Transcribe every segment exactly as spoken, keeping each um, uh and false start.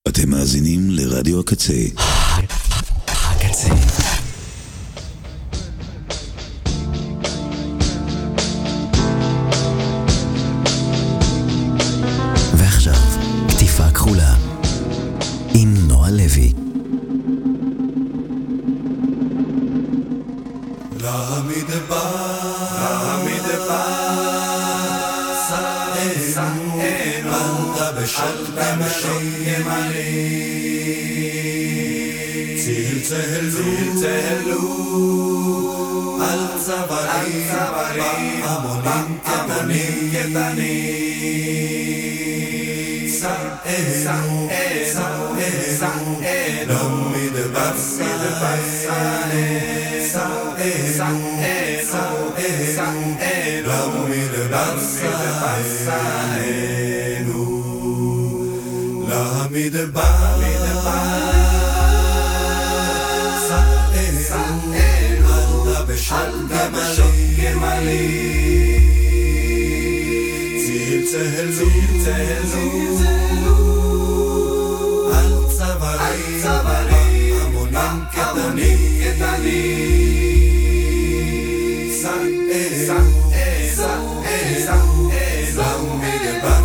אתם מאזינים לרדיו הקצה. הקצה. ועכשיו, כתיפה כחולה עם נועה לוי. צלצלו על צווארי המונים קטנים סענו סענו לא מדבר סענו לא מדבר סענו לא מדבר בשל גמלי צלצלו על צווארי המונים קטנים סענו לא מדבר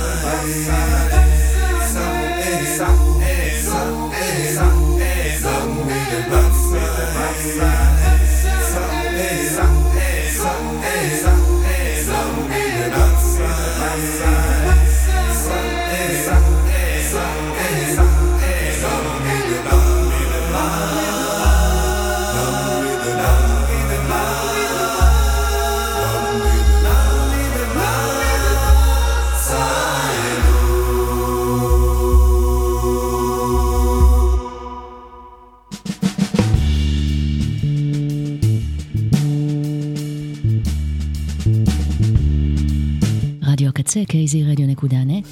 קייזי רדיו נקודה נט,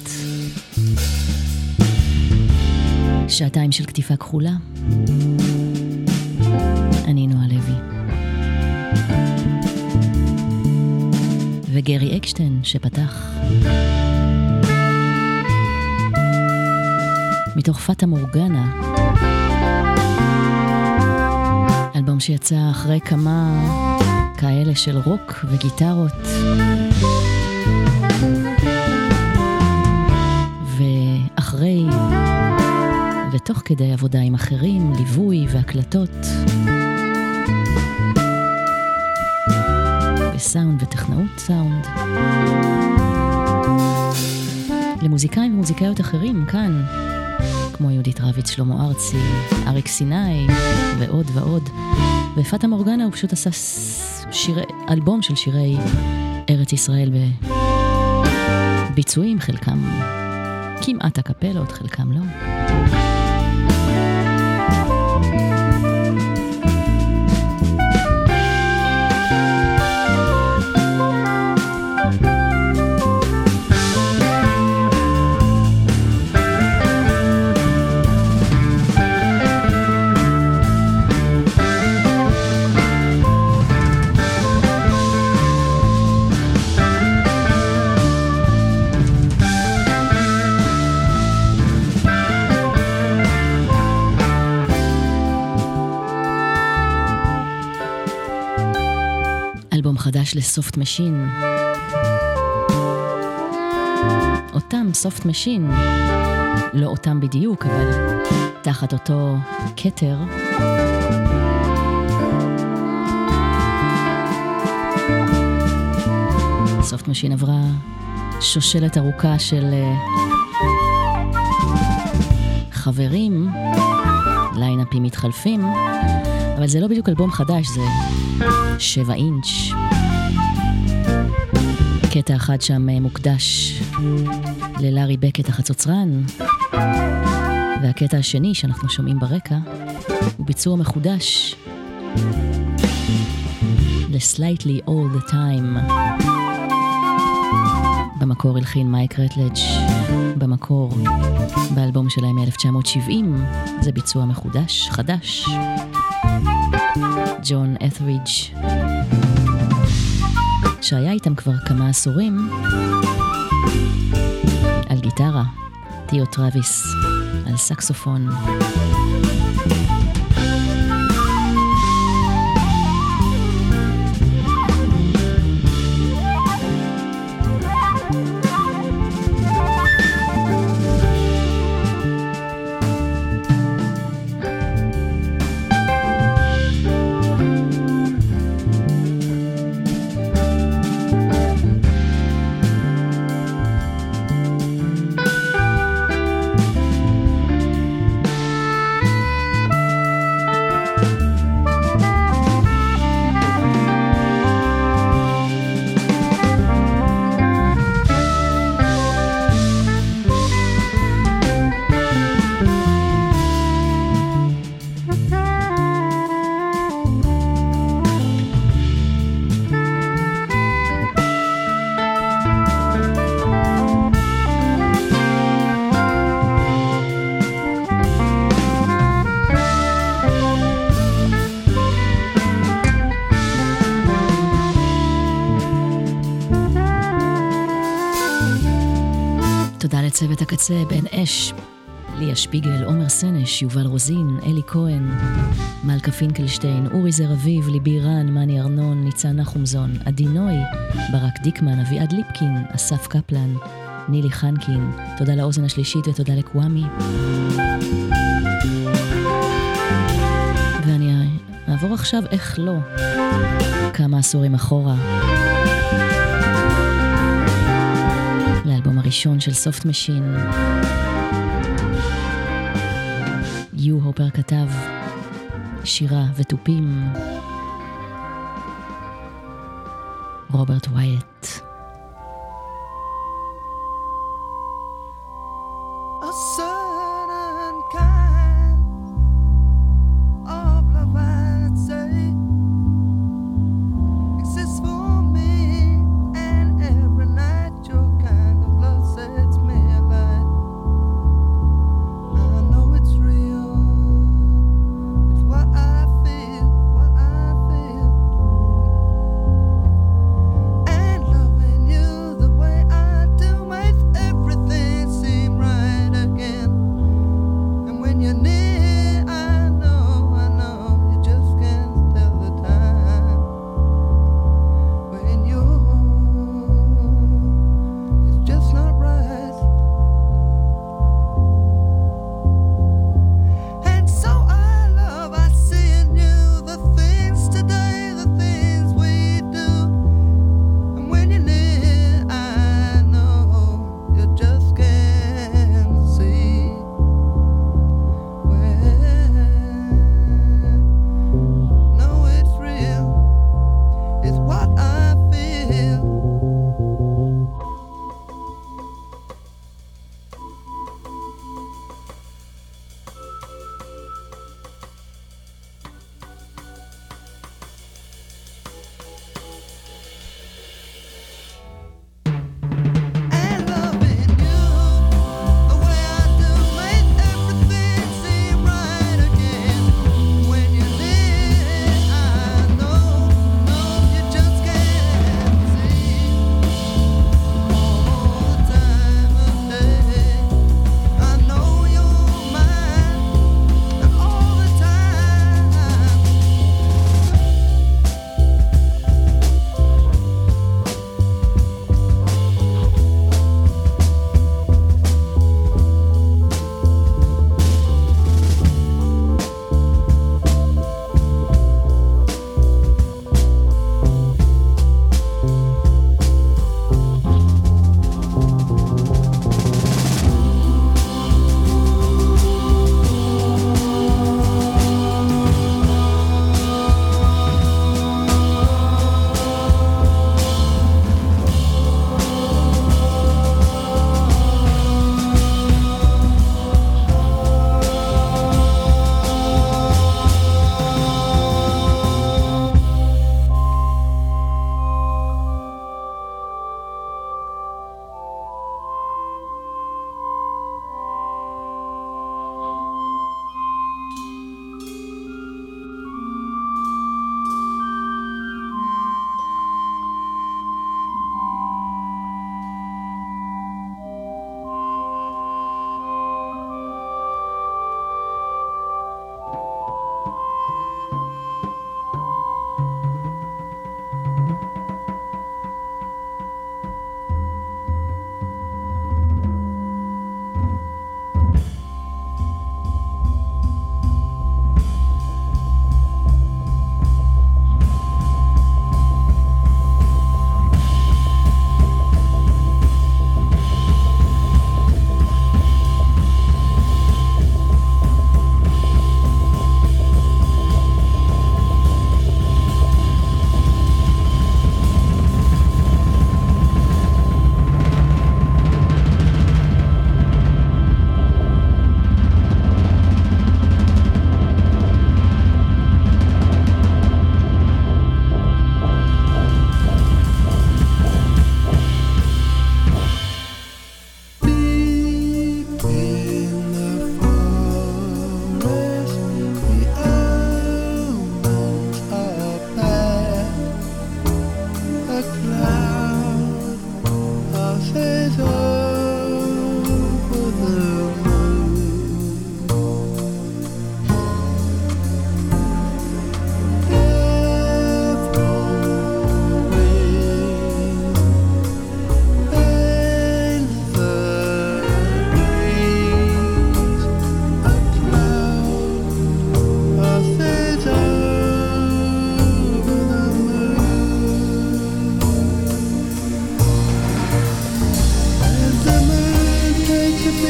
שעתיים של כתיפה כחולה. אני נועה לוי וגרי אקשטיין שפתח מתוך פאטה מורגנה, אלבום שיצא אחרי כמה כאלה של רוק וגיטרות ואחרי ותוך כדי עבודה עם אחרים, ליווי והקלטות וסאונד וטכנאות סאונד למוזיקאים ומוזיקאיות אחרים כאן כמו יהודית רביץ, שלמה ארצי, אריק סיני ועוד ועוד. ופאטה מורגנה הוא פשוט עשה שירי, אלבום של שירי ארץ ישראל בביצועים, חלקם כמעט הקפלות, חלקם לא. חדש לסופט משין, אותם סופט משין, לא אותם בדיוק, אבל תחת אותו כתר. סופט משין עברה שושלת ארוכה של חברים, ליינאפים מתחלפים, אבל זה לא בדיוק אלבום חדש, זה שבע אינץ'. קטע אחד שם מוקדש ללארי בקט החצוצרן, והקטע השני שאנחנו שומעים ברקע הוא ביצוע מחודש ל-Slightly All the Time. במקור הלחין מייק רטלג', במקור באלבום שלהם מ-אלף תשע מאות שבעים. זה ביצוע מחודש, חדש. ג'ון את'רידג' שהיה איתם כבר כמה עשורים על גיטרה, תיאו טרוויס על סקסופון. צוות הקצה, בן אש, ליה שפיגל, עומר סנש, יובל רוזין, אלי כהן, מלכה פינקלשטיין, אורי זר אביב, ליבי רן, מני ארנון, ניצן נחומזון, עדי נוי, ברק דיקמן, אביעד ליפקין, אסף קפלן, נילי חנקין. תודה לאוזן השלישית ותודה לקוואמי. ואני אעבור עכשיו איך לא, כמה עשורים אחורה, לאלבום הראשון של סופט משין. יו הופר כתב שירה וטופים, רוברט ווייט. And loving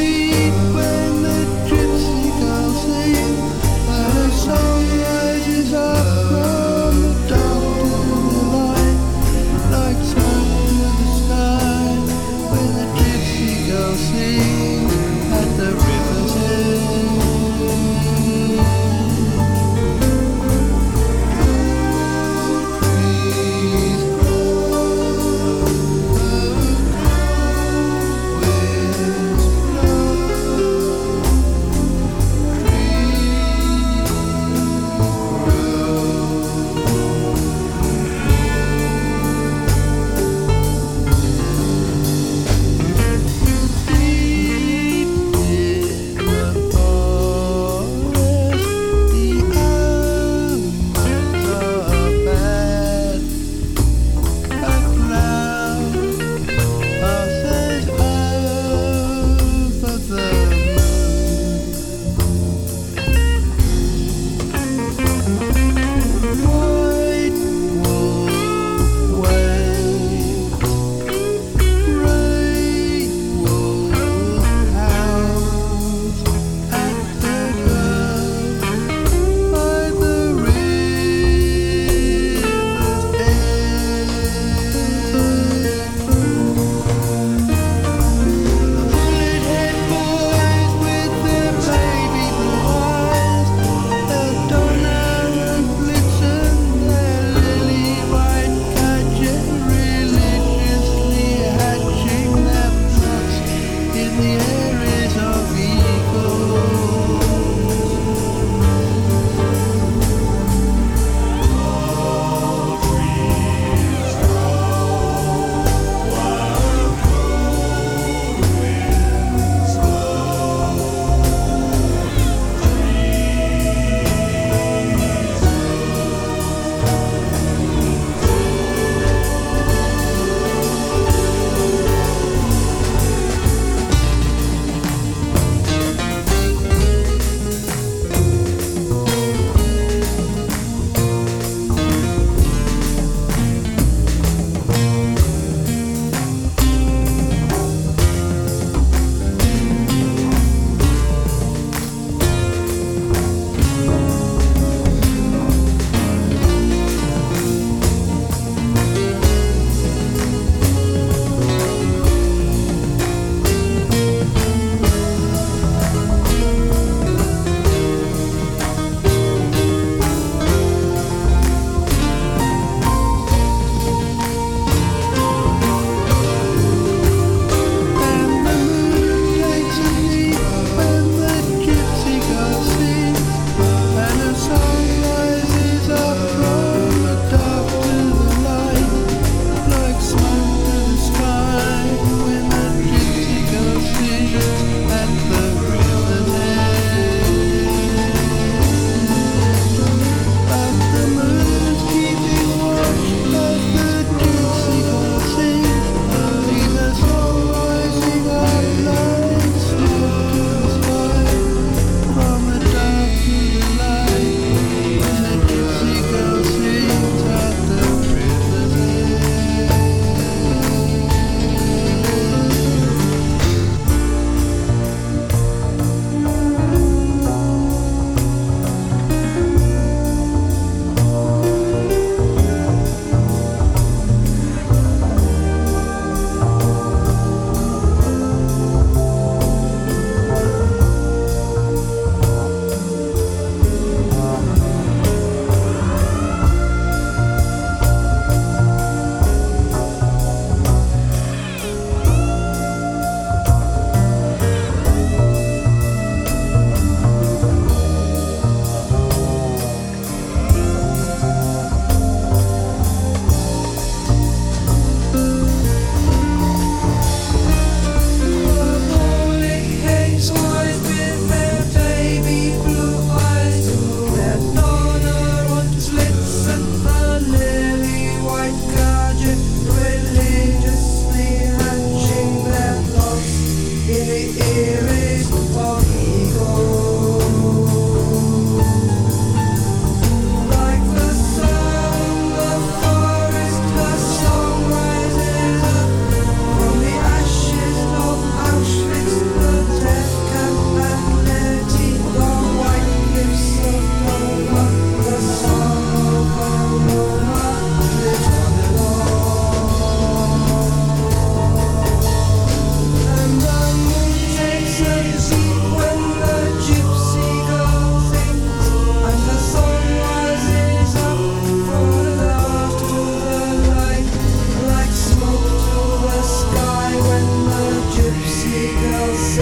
Auschwitz, the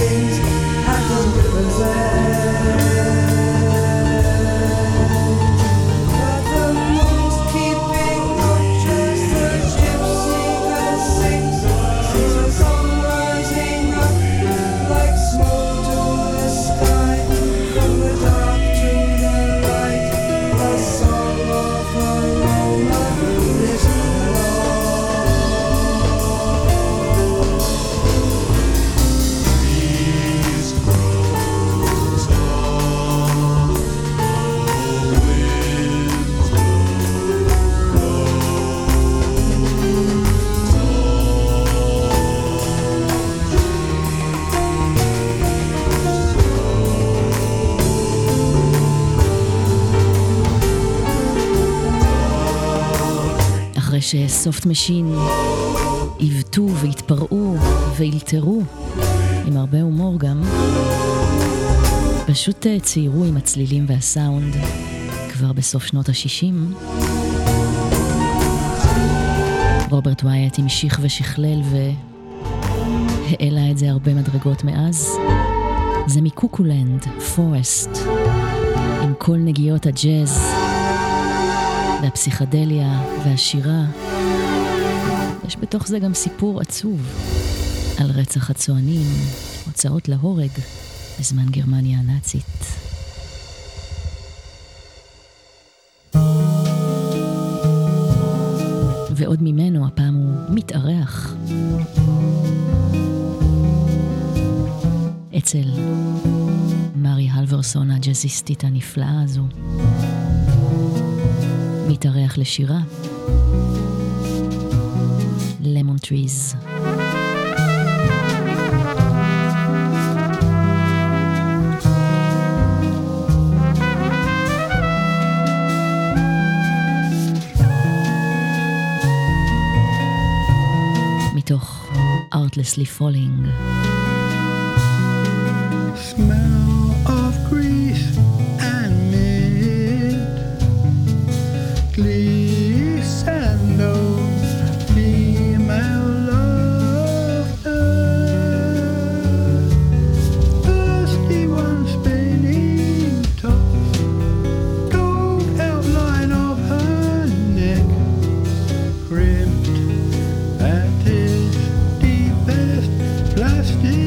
things at the river's edge. But the moon's keeping watches, the gypsy that sings, sees the sun rising up like smoke to the sky, from the dark to the light, the song of a Roma lives אחרי שסופט משין עיוותו והתפרעו והילתרו עם הרבה הומור גם, פשוט ציירו עם הצלילים והסאונד כבר בסוף שנות ה-שישים. רוברט ווייט המשיך ושכלל והעלה את זה הרבה מדרגות מאז. זה מקוקולנד, פורסט, עם כל נגיעות הג'אז והפסיכדליה והשירה. יש בתוך זה גם סיפור עצוב על רצח הצוענים, הוצאות להורג בזמן גרמניה הנאצית. ועוד ממנו, הפעם הוא מתארח אצל מרי הלברסון הג'אזיסטית הנפלאה הזו. מתארח לשירה Lemon Trees. מתוך Artlessly Falling. Smell of grease and mint, glissando, female laughter, thirsty one spinning tops, gold outline of her neck, crimped at its deepest plastic.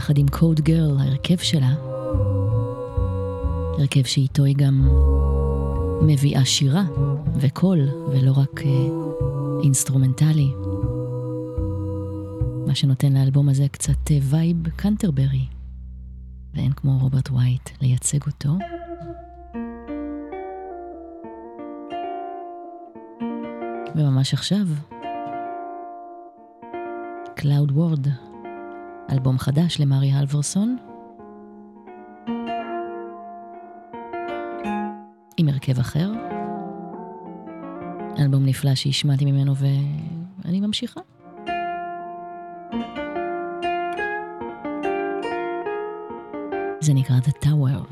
יחד עם קוד גרל, ההרכב שלה, הרכב שאיתו היא גם מביאה שירה וקול, ולא רק uh, אינסטרומנטלי. מה שנותן לאלבום הזה קצת uh, וייב קנטרברי, ואין כמו רוברט ווייט לייצג אותו. וממש עכשיו, Cloud World, אלבום חדש למרי הלברסון, עם הרכב אחר, אלבום נפלא שהשמעתי ממנו ואני ממשיכה. זה נקרא The Tower.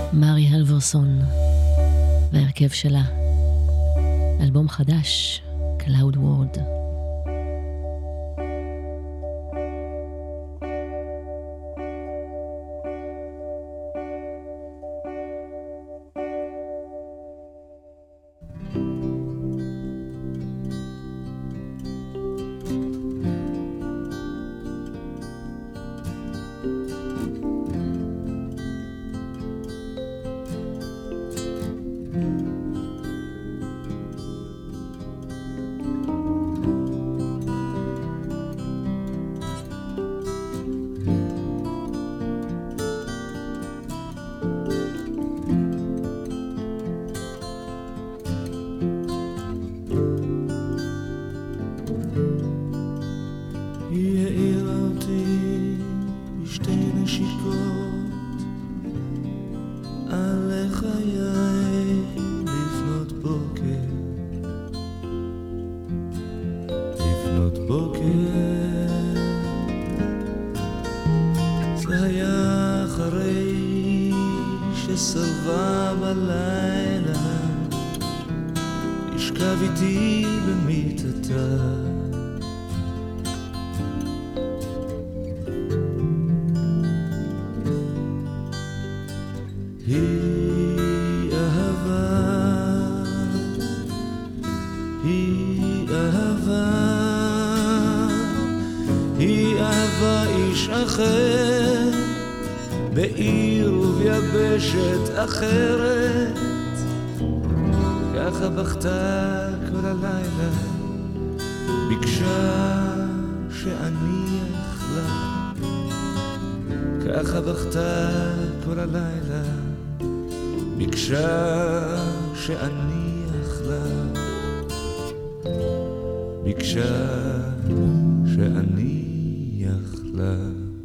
מארי הלברסון והרכב שלה, אלבום חדש, Cloud World. בעיר וביבשת אחרת, ככה בכתה כל הלילה, ביקשה שאניח לה, ככה בכתה כל הלילה, ביקשה שאניח לה, ביקשה שאניח לה.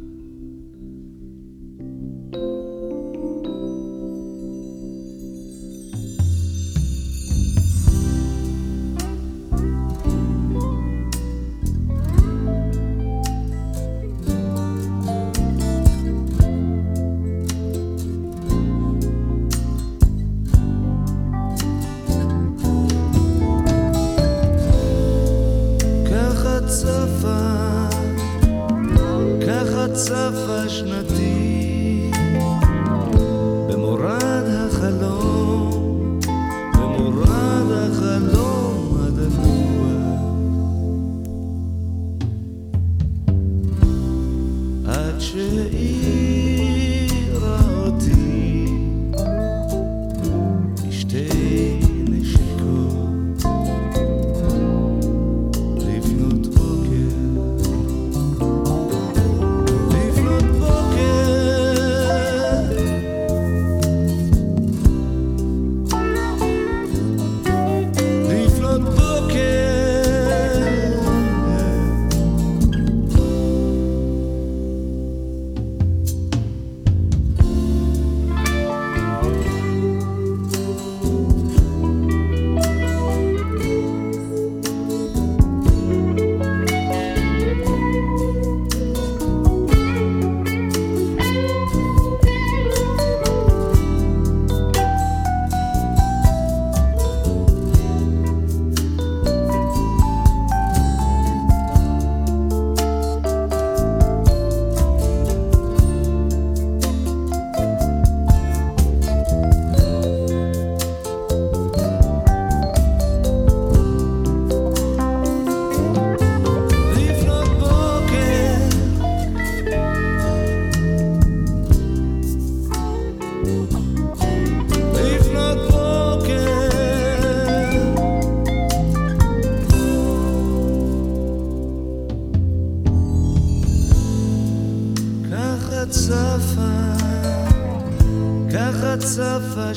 צפה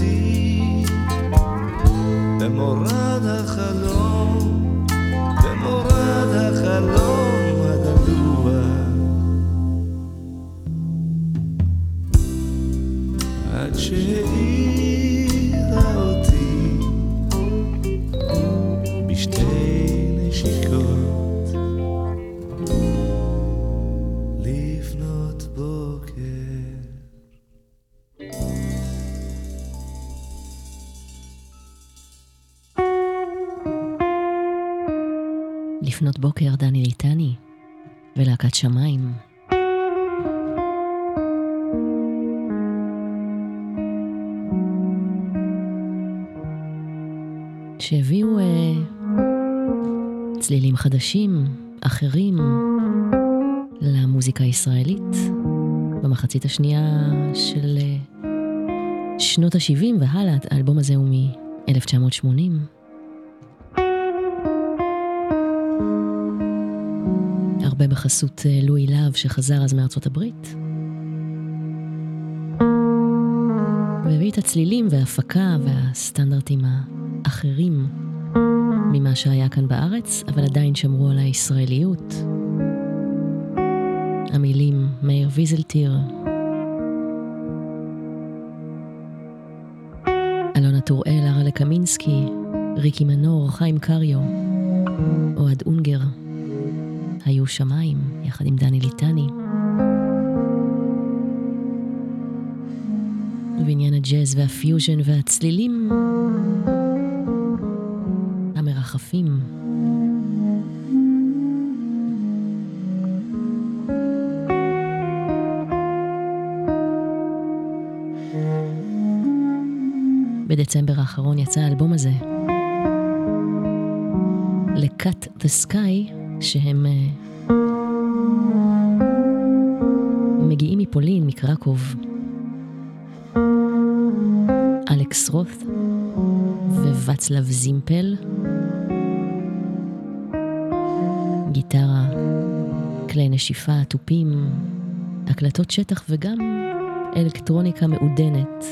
שנתי במורד החלום, במורד החלום הדלוע, עד שהעירה אותי בשתי נשיקות לפנות בוקר. לפנות בוקר דני ליטני ולהקת שמיים. שהביאו אה, צלילים חדשים, אחרים, למוזיקה הישראלית במחצית השנייה של אה, שנות ה-שבעים והלאה. האלבום הזה הוא מ-אלף תשע מאות שמונים. הרבה בחסות אה, לואי להב שחזר אז מארצות הברית. והביא את הצלילים וההפקה והסטנדרטים האחרים ממה שהיה כאן בארץ, אבל עדיין שמרו על הישראליות. המילים מאיר ויזלטיר, אלונה טוראל, ארלה קמינסקי, ריקי מנור, חיים קריו, אוהד אונגר, היו שמיים יחד עם דני ליטני. ועניין הג'אז והפיוז'ן והצלילים המרחפים. בדצמבר האחרון יצא האלבום הזה, ל-Cut the Sky, שהם uh, מגיעים מפולין, מקרקוב. אלכס רות ווצלב זימפל, גיטרה, כלי נשיפה, טופים, הקלטות שטח וגם אלקטרוניקה מעודנת.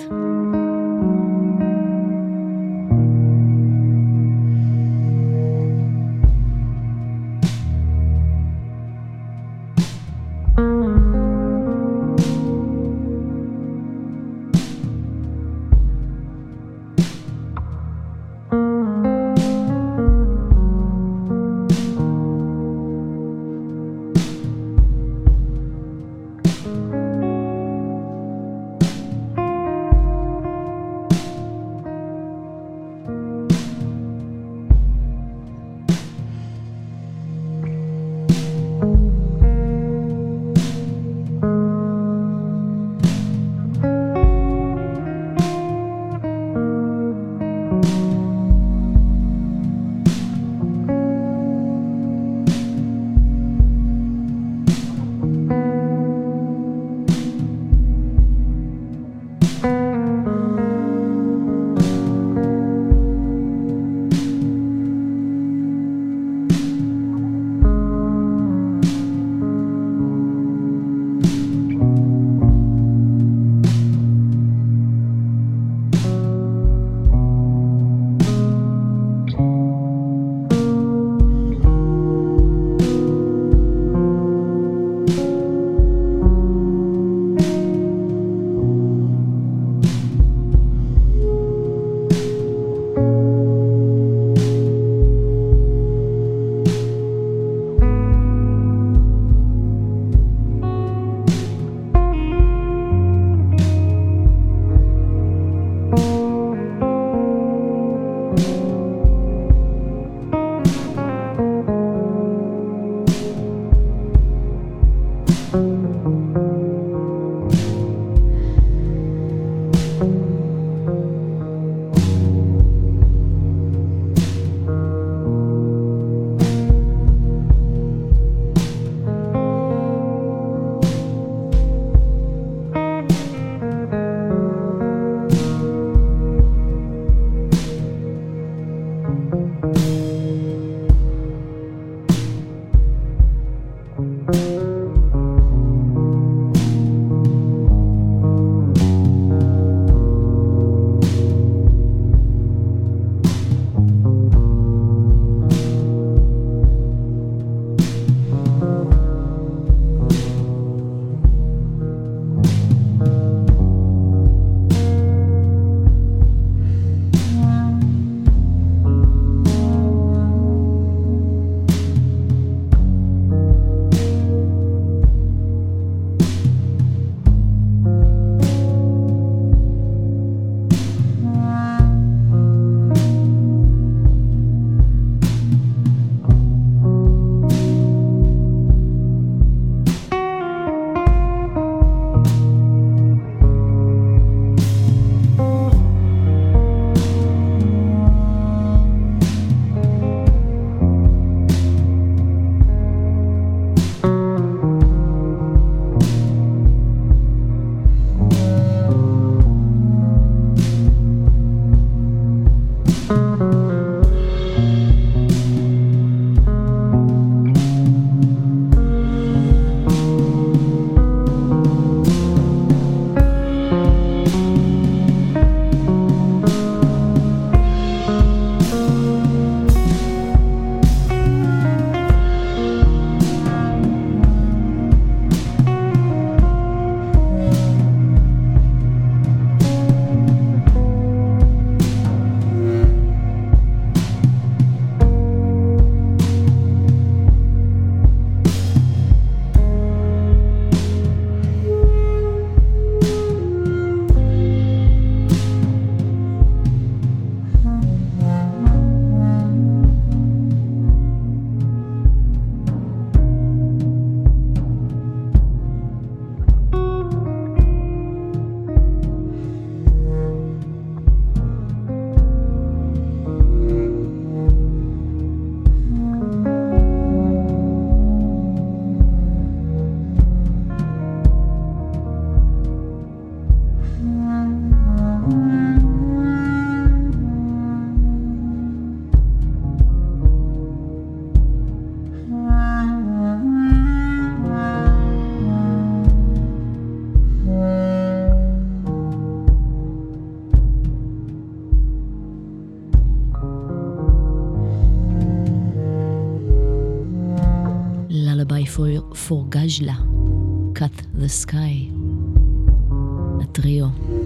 For Gajla, Cut the Sky, הטריו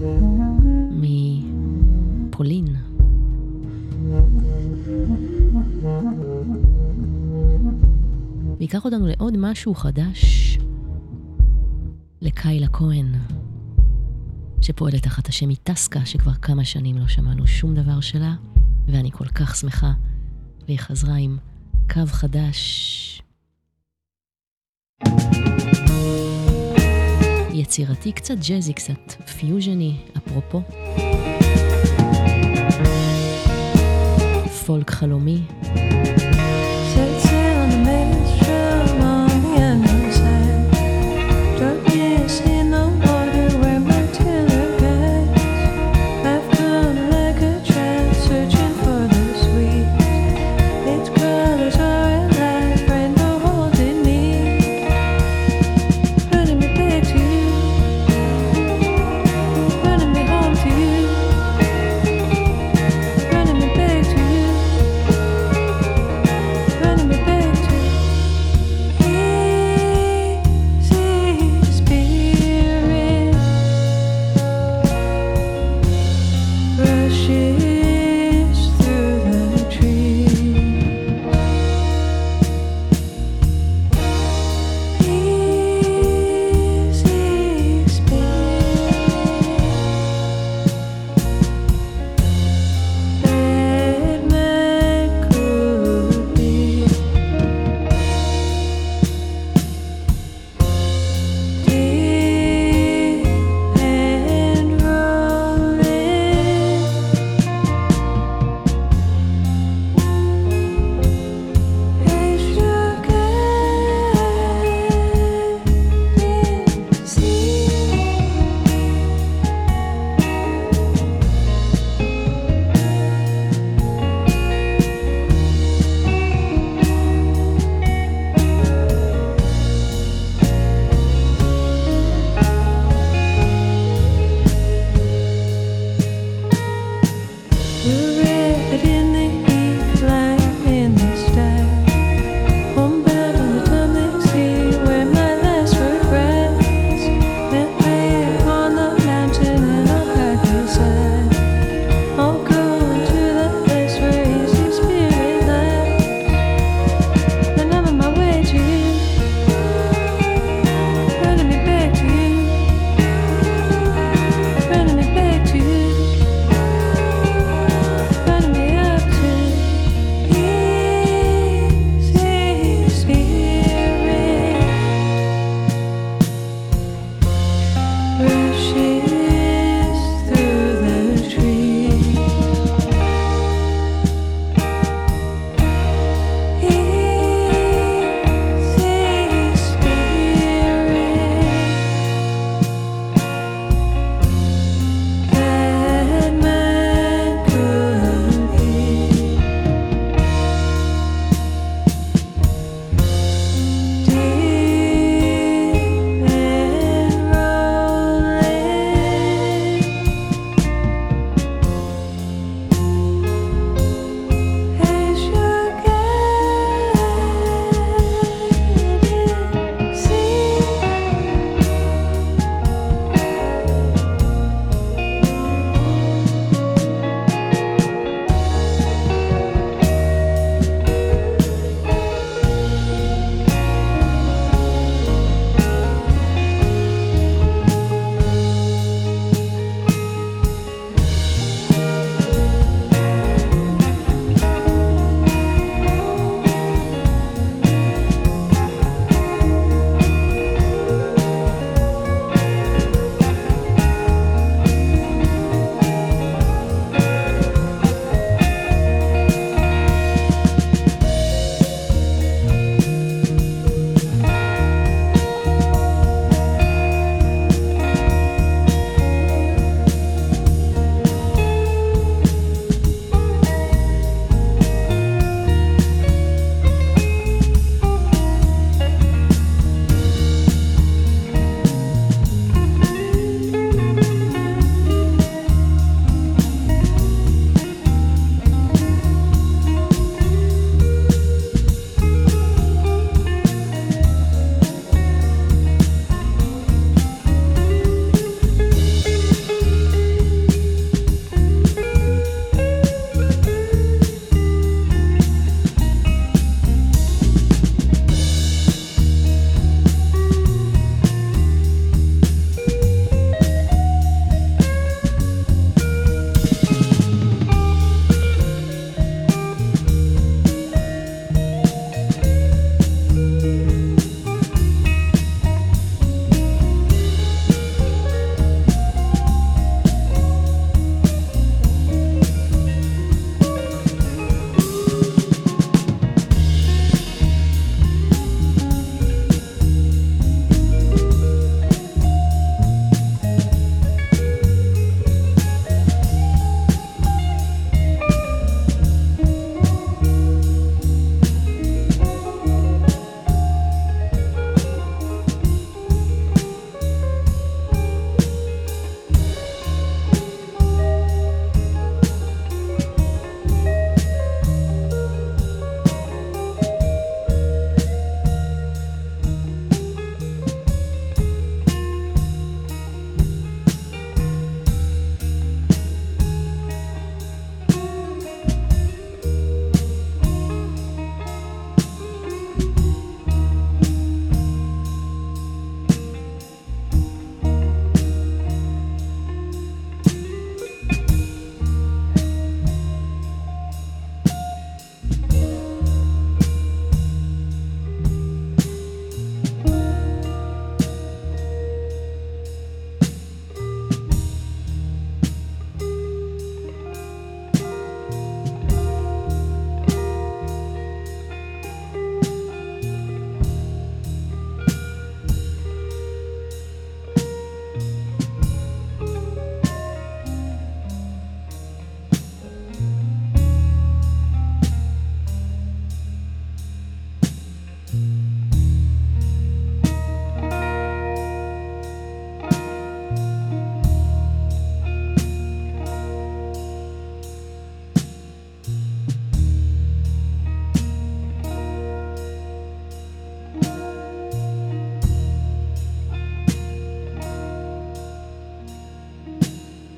מפולין. ויקח אותנו לעוד משהו חדש, לקיילה כהן, שפועלת תחת השם איטסקה, שכבר כמה שנים לא שמענו שום דבר שלה, ואני כל כך שמחה, והיא חזרה עם קו חדש. יצירתי, קצת ג'זי, קצת פיוז'ני, אפרופו. פולק חלומי. Rushes through the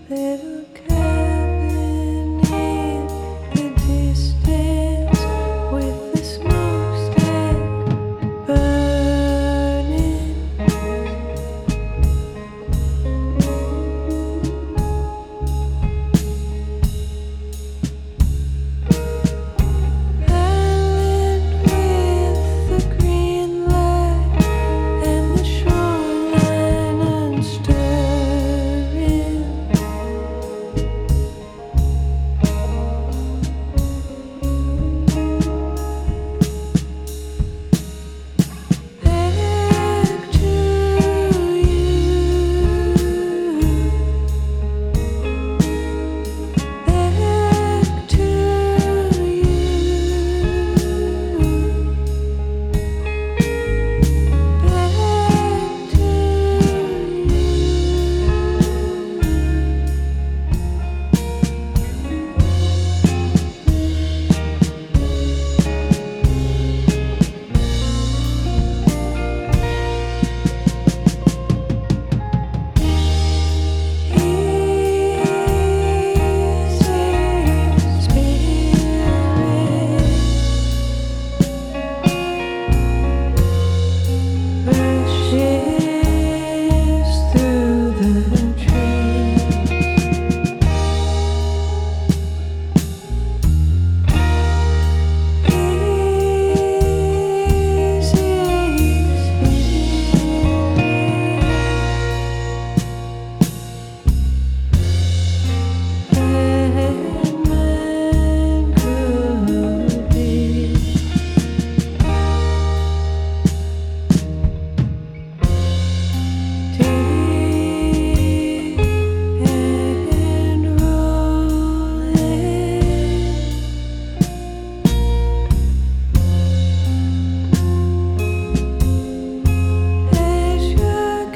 little cabin in the distance with the smokestack burning. Island with the green light and the shoreline unstirring. Back to you. Back to you. Back to Rushes through the trees. And rolling as your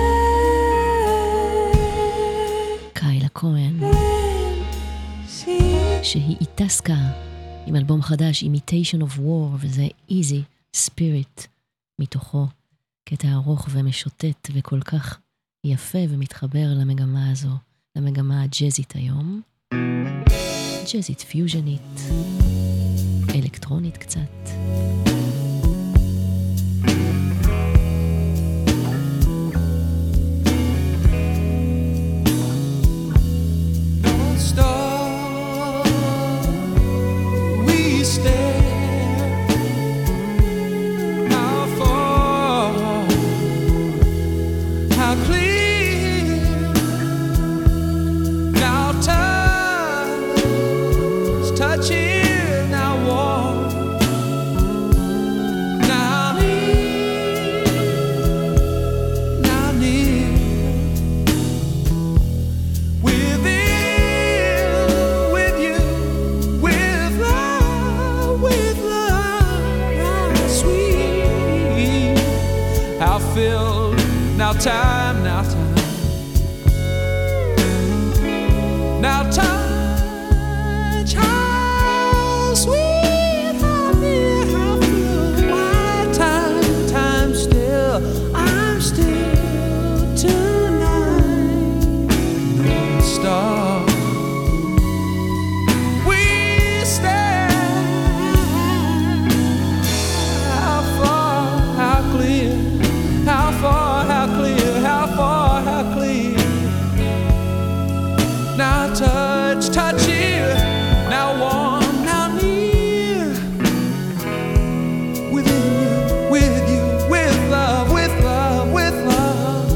guide קיילה כהן, see שהיא איטסקה עם אלבום חדש, Imitation of War, וזה Easy Spirit מתוכו, קטע ארוך ומשוטט וכל כך יפה ומתחבר למגמה הזו, למגמה הג'זית היום. ג'זית פיוז'נית, אלקטרונית קצת. Don't stop, we stare. How far, how clear. Now touch, touch it, now walk. Now near, now near. Within, with you, with love, with love, how sweet, how filled, now time, now time, now touch, how sweet, how near, how filled, my time, time still, I'm still tonight. Stop. We stand. How far, how clear, how far, how clear, how far, how clear. Now touch, touch it. Now warm, now near. Within you, with you, with love, with love, with love.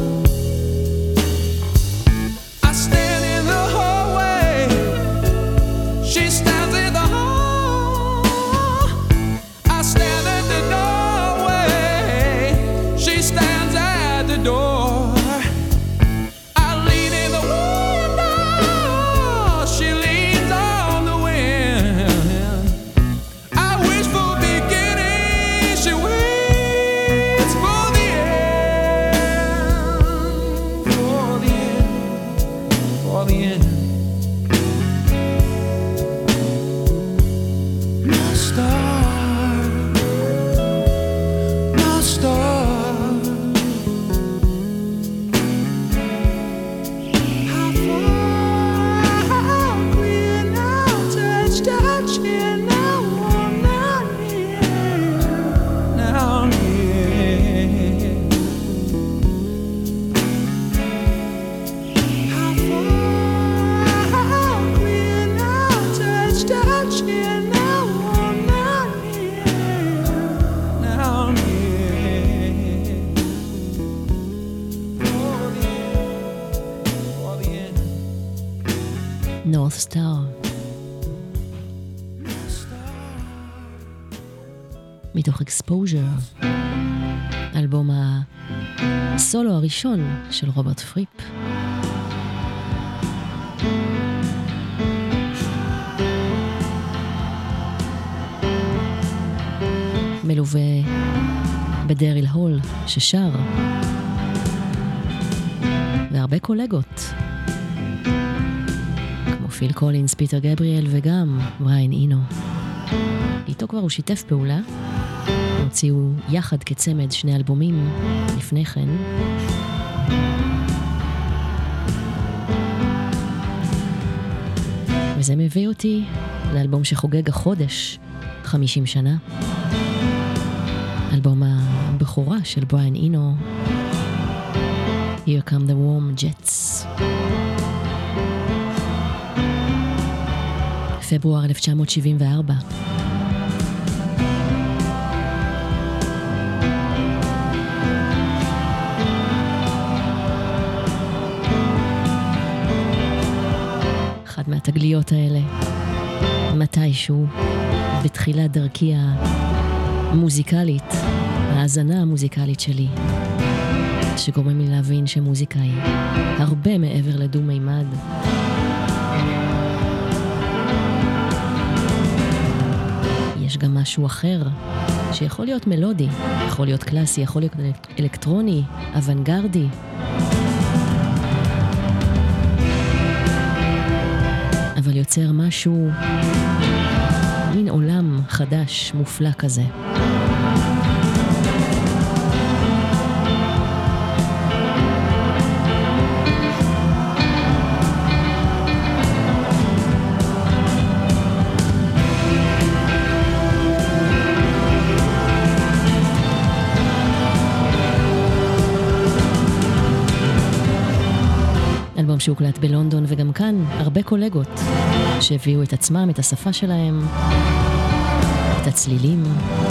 I stand in the hallway. She stands in the hall. I stand at the doorway. She stands at the door. I lean in the window. She leans on the wind. I wish for beginning. She waits for the end. For the end. For the end. My star, my star. How far North Star. מתוך Exposure, אלבום הסולו הראשון של רוברט פריפ. מלווה בדריל הול ששר, והרבה קולגות כמו פיל קולינס, פיטר גבריאל וגם בריין אינו. איתו כבר הוא שיתף פעולה, הוציאו יחד כצמד שני אלבומים לפני כן. וזה מביא אותי לאלבום שחוגג החודש חמישים שנה, אלבום הבכורה של בריין אינו, Here Come the Warm Jets. פברואר אלף תשע מאות שבעים וארבע. אחד מהתגליות האלה, מתישהו בתחילת דרכי המוזיקלית, ההאזנה המוזיקלית שלי, שגורם לי להבין שמוזיקה היא הרבה מעבר לדו מימד. יש גם משהו אחר שיכול להיות מלודי, יכול להיות קלאסי, יכול להיות אלקטרוני, אוונגרדי. אבל יוצר משהו, מין עולם חדש, מופלא כזה. אלבום שהוקלט בלונדון, וגם כאן הרבה קולגות שהביאו את עצמם, את השפה שלהם, את הצלילים.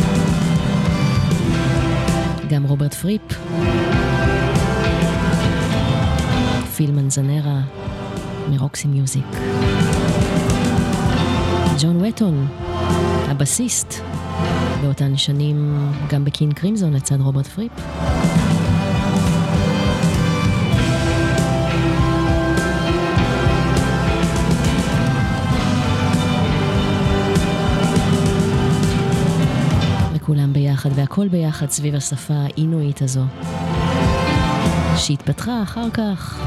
גם רוברט פריפ, פיל מנזנרה מרוקסי מיוזיק, ג'ון וטון, הבסיסט באותן שנים גם בקינג קרימזון לצד רוברט פריפ. כולם ביחד והכל ביחד סביב השפה האינואית הזו שהתפתחה אחר כך.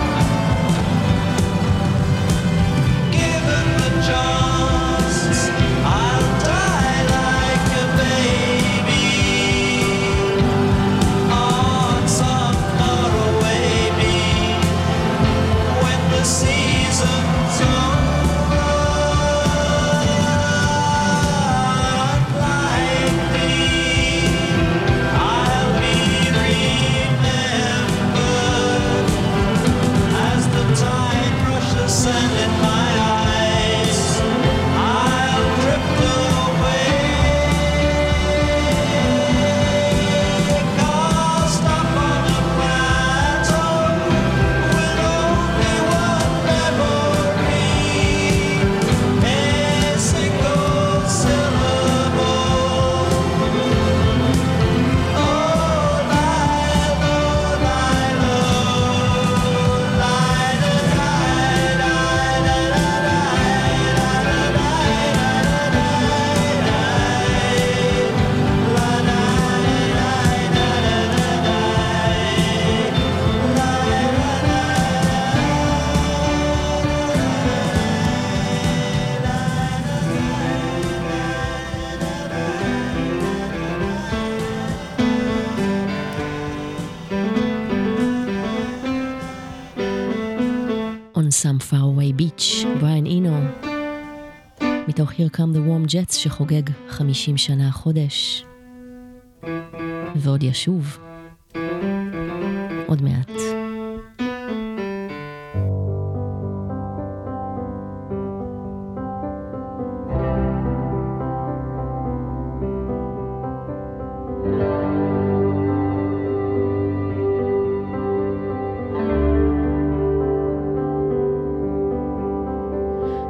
Some Faraway Beach, בריין אינו, מתוך Here Come the Warm Jets שחוגג חמישים שנה חודש, ועוד ישוב, עוד מעט.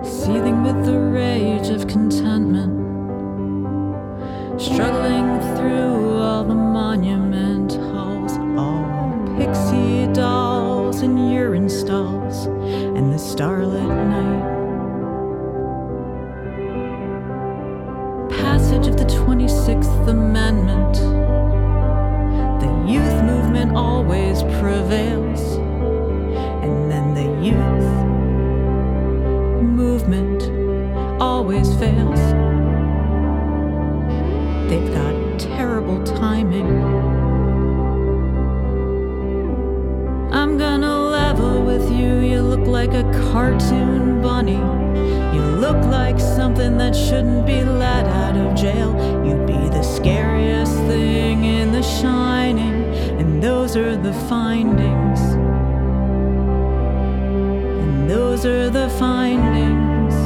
seething with the rage of contentment, struggling through all the monument halls, all pixie dolls and urine stalls, and the starlit night. Passage of the twenty-sixth Amendment. The youth movement always prevails, and then the youth movement always fails. They've got terrible timing. I'm gonna level with you. You look like a cartoon bunny. You look like something that shouldn't be let out of jail. You'd be the scariest thing in The Shining, and those are the findings. And those are the findings.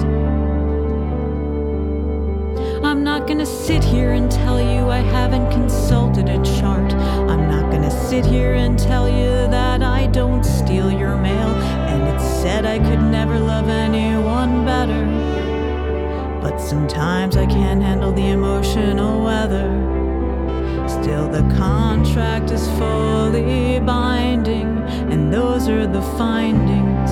I'm not gonna sit here and tell you I haven't consulted a chart. I'm not gonna sit here and tell you that I don't steal your mail. And it's said I could never love anyone better, but sometimes I can't handle the emotional weather. Still the contract is fully binding, and those are the findings.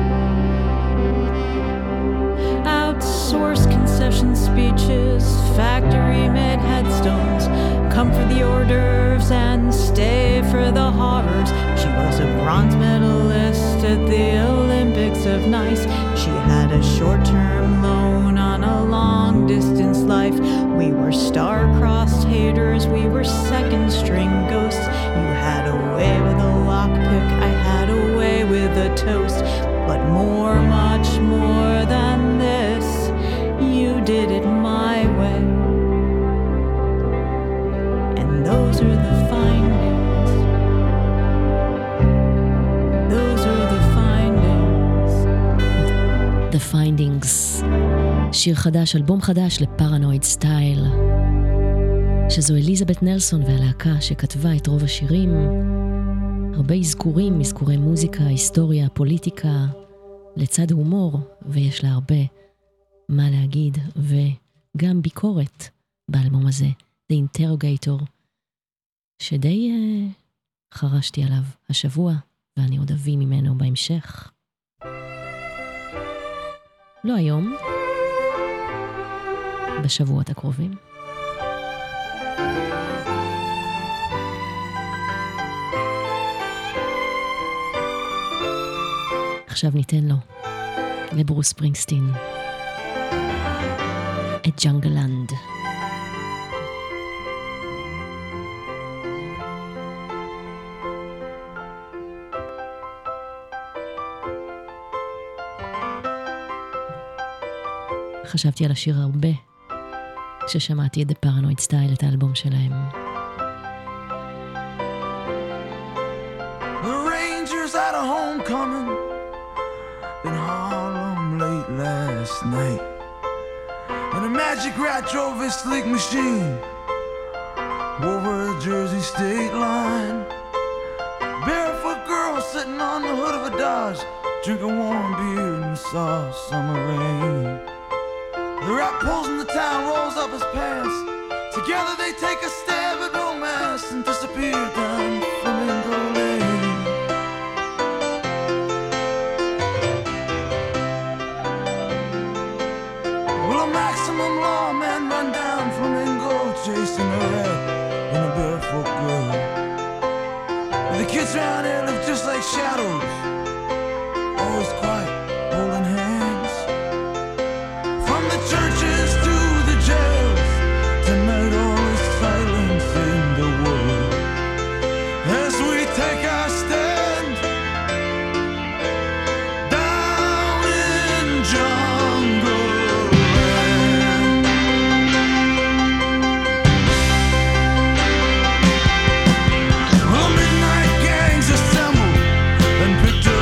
Outsource concession speeches, factory-made headstones, come for the hors d'oeuvres and stay for the horrors. She was a bronze medalist at the Olympics of Nice. She had a short-term loan on a long-distance life. We were star-crossed haters, we were second-string ghosts. You had a way with a lockpick, I had a way with a toast. But more, much more than this, you did it my way. And those are the findings. Those are the findings. The Findings, שיר חדש, אלבום חדש לפרנויד סטייל, שזו אליזבת נלסון והלהקה שכתבה את רוב השירים. הרבה אזכורים, אזכורי מוזיקה, היסטוריה, פוליטיקה, לצד הומור, ויש לה הרבה מה להגיד, וגם ביקורת באלבום הזה, The Interrogator, שדי uh, חרשתי עליו השבוע, ואני עוד אביא ממנו בהמשך. לא היום, בשבועות הקרובים. עכשיו ניתן לו, לברוס ספרינגסטין, את ג'אנגלנד. חשבתי על השיר הרבה כששמעתי את The Paranoid Style, את האלבום שלהם. The Rangers had a homecoming in Harlem late last night, and a magic rat drove his sleek machine over a Jersey state line. Barefoot girl sitting on the hood of a Dodge, drinking warm beer in the soft summer rain. The rat pulls in the town, rolls up his pants. Together they take a stab at romance and disappear down Flamingo Lane. Will a maximum lawman run down Flamingo, chasing a rat and a barefoot girl? The kids around here live just like shadows, always quiet, holding hands. From the churches to the jails, tonight all is silence in the world. As we take our stand down in jungle land. Well, midnight gangs assemble and picked up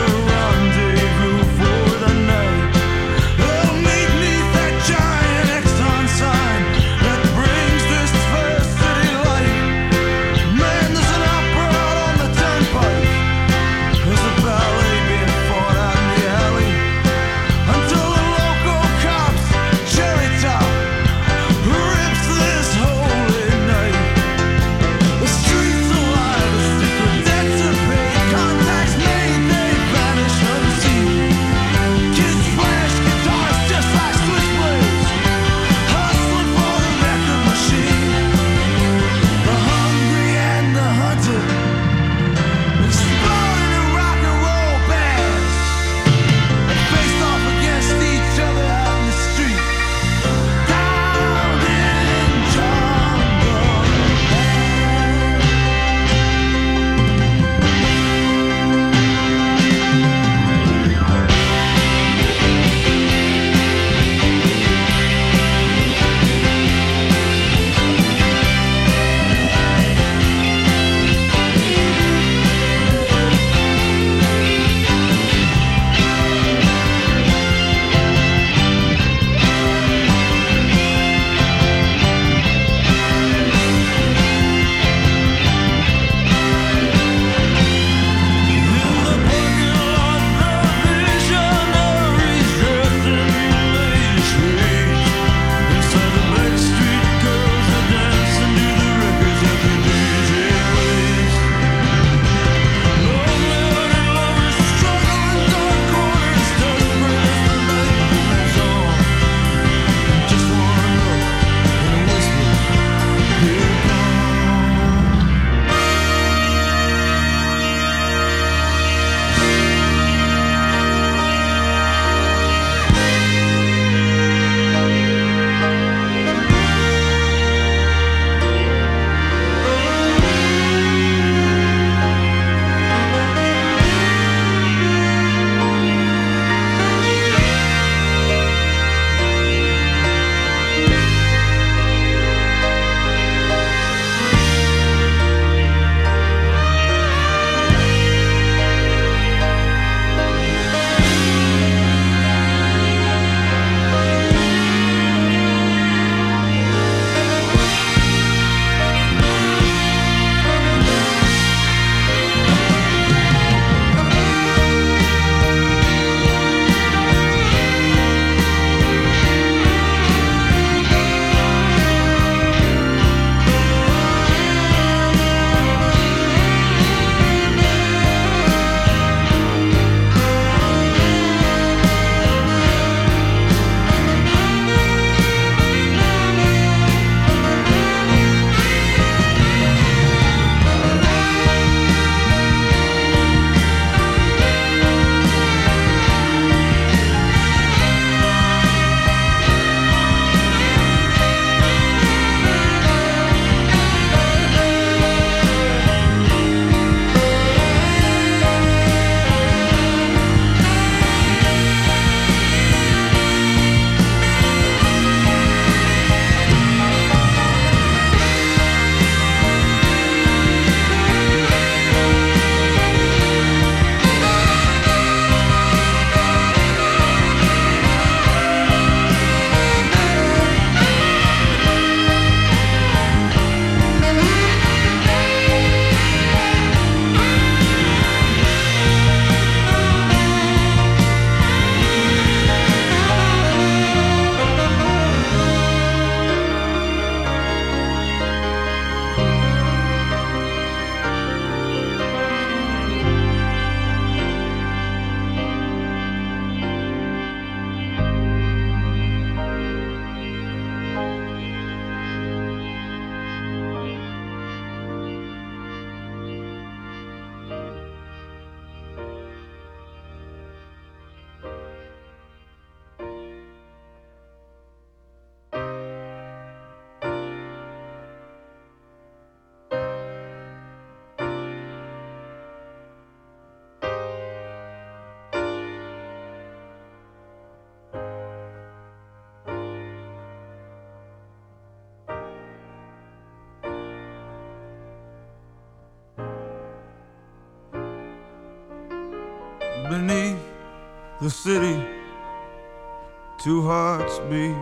beneath the city, two hearts beat,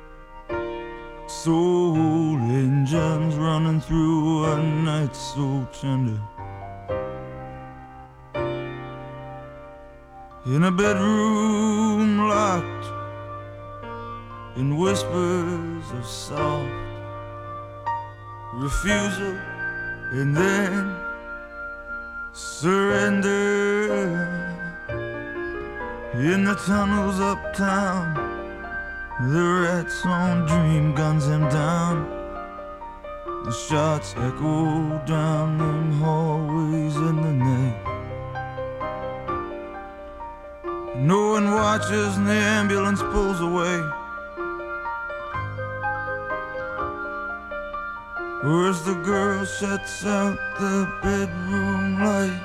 soul engines running through a night so tender. In a bedroom locked in whispers of soft refusal and then surrender. In the tunnels uptown, the rats on dream guns him down. The shots echo down them hallways in the night. No one watches and the ambulance pulls away. Where's the girl shuts out the bedroom light?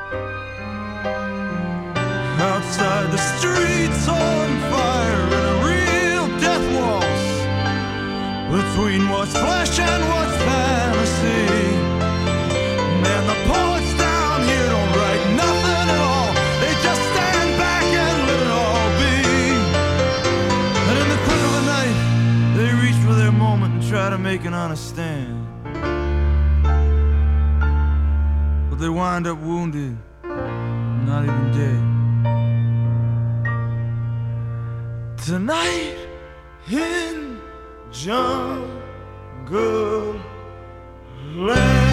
Outside the streets on fire in a real death waltz between what's flesh and what's fantasy. Man, the poets down here don't write nothing at all. They just stand back and let it all be. And in the quick of the night, they reach for their moment and try to make an honest stand. But they wind up wounded, not even dead. Tonight in Jungle Land.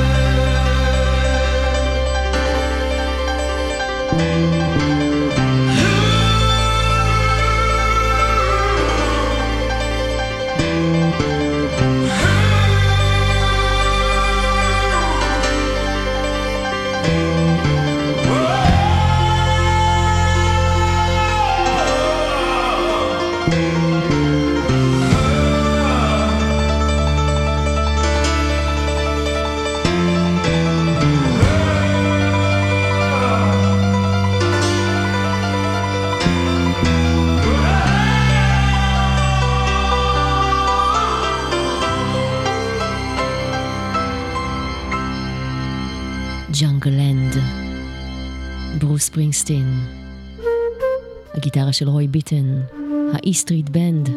ג'אנגלנד, ברוס ספרינגסטין, הגיטרה של רוי ביטן, האי סטריט בנד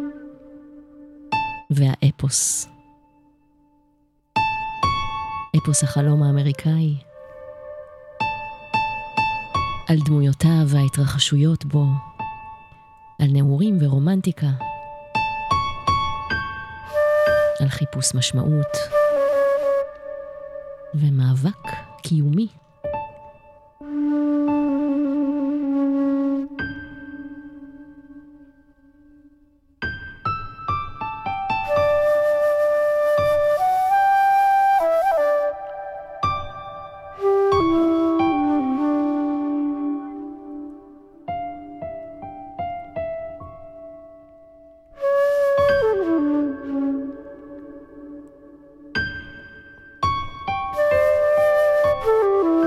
והאפוס, אפוס החלום האמריקאי, על דמויותיו וההתרחשויות בו, על נעורים ורומנטיקה, על חיפוש משמעות ומאבק קיומי. Ooh.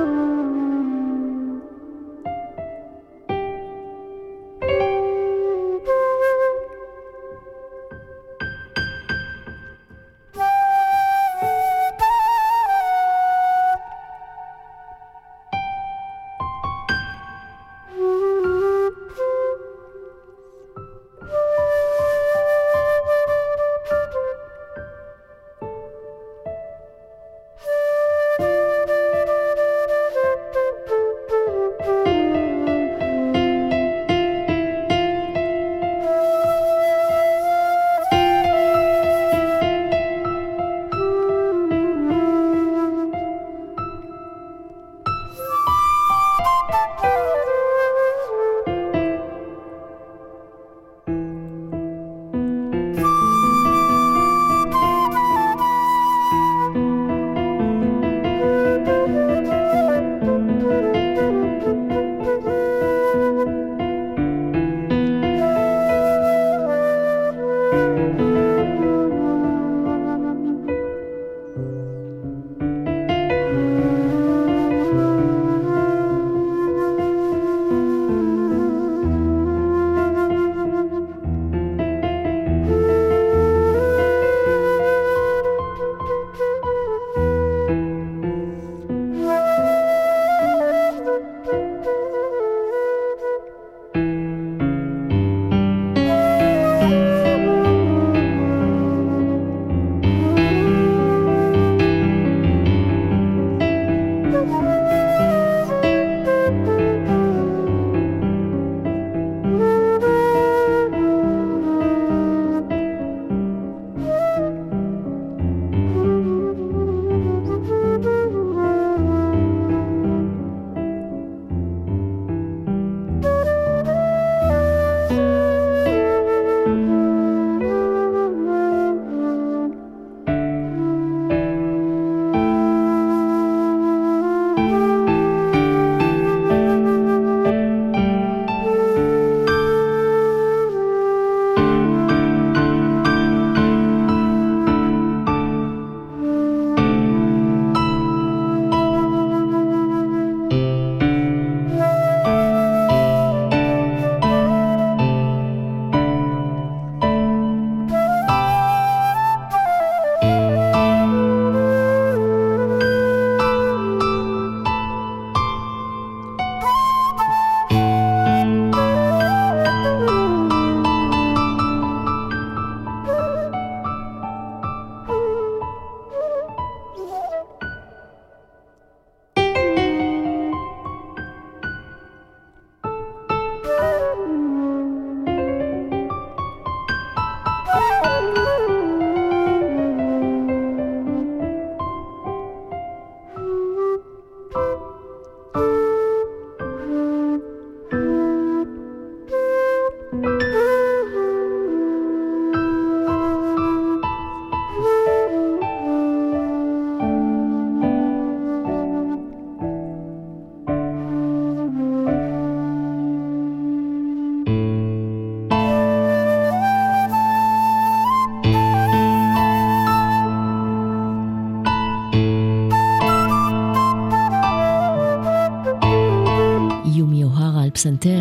פסנתר,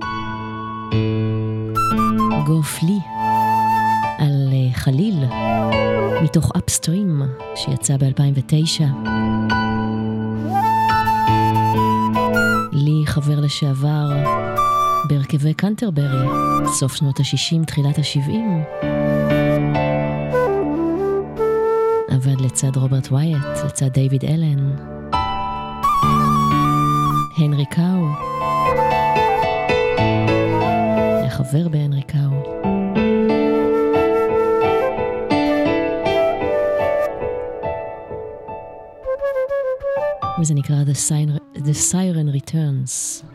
גוף לי, על uh, חליל, מתוך אפסטרים, שיצא ב-אלפיים ותשע. לי חבר לשעבר בהרכבי קנטרברי, סוף שנות ה-שישים, תחילת ה-שבעים. עבד לצד רוברט ווייט, לצד דיוויד אלן, הנרי קאו, היה חבר בהנרי קאו. וזה נקרא The Siren, The Siren Returns.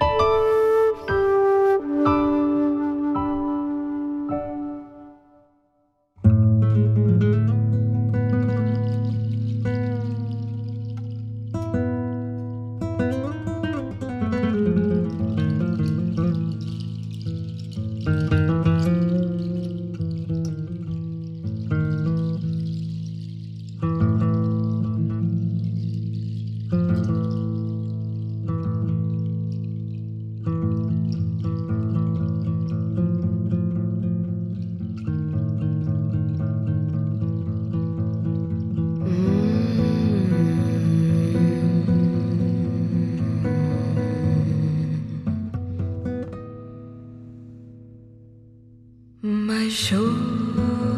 My shore,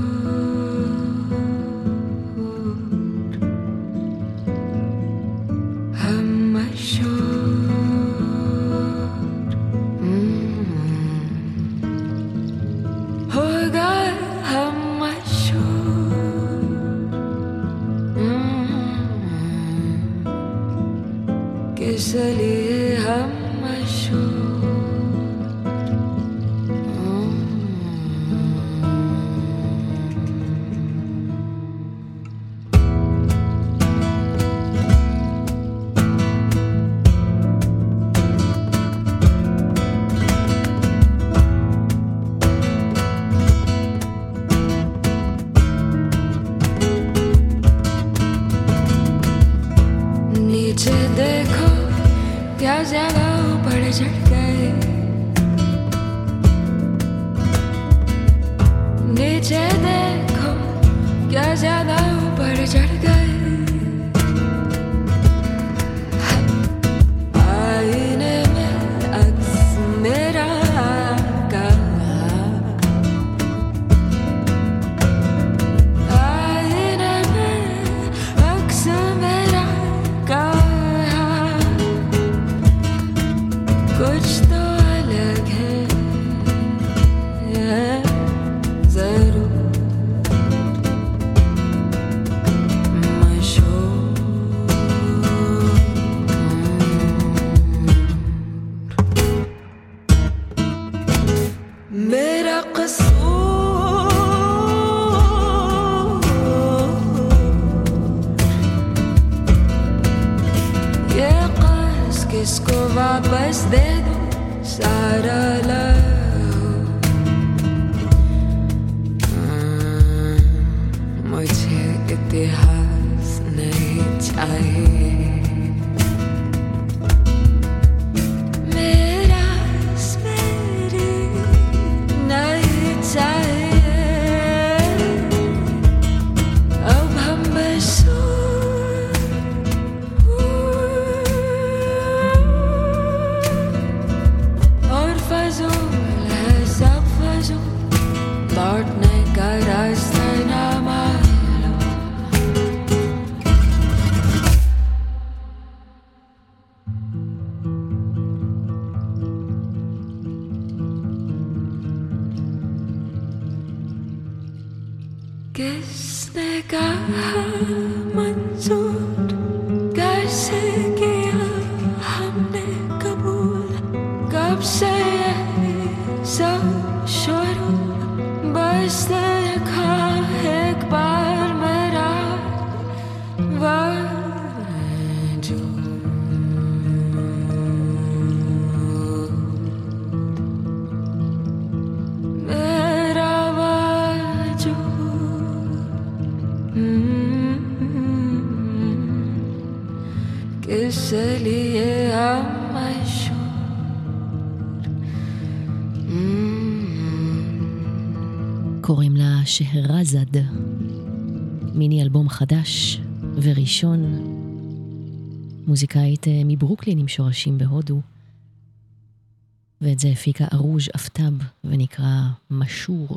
I'm my shore. Mm. Oh God, I'm my shore. Mm. किस लिए हम my shore? ज्यादा ऊपर चढ़ गए, नीचे देखो क्या ज्यादा ऊपर चढ़ गए। आईने में अक्स मेरा का, आईने में अक्स मेरा का, कुछ तो अलग है जरूर मशहूर। मेरा कसूर ये क़र्ज़ किसको वापस दे दो सारा लहू। मुझे इतिहास नहीं चाहिए, मेरा मेरी नहीं चाहिए। अब हम बस लौटने का रास्ता ना मालूम। किसने कहा मंजूर, कैसे किया हमने कबूल, कब से सब शुरू, बस देखा एक बार मेरा वजूद। मेरा वजूद किस लिए हम मशहूर। קוראים לה שהרזד, מיני אלבום חדש וראשון, מוזיקאית מברוקלין עם שורשים בהודו, ואת זה הפיקה ארוז' אפטאב ונקרא משור.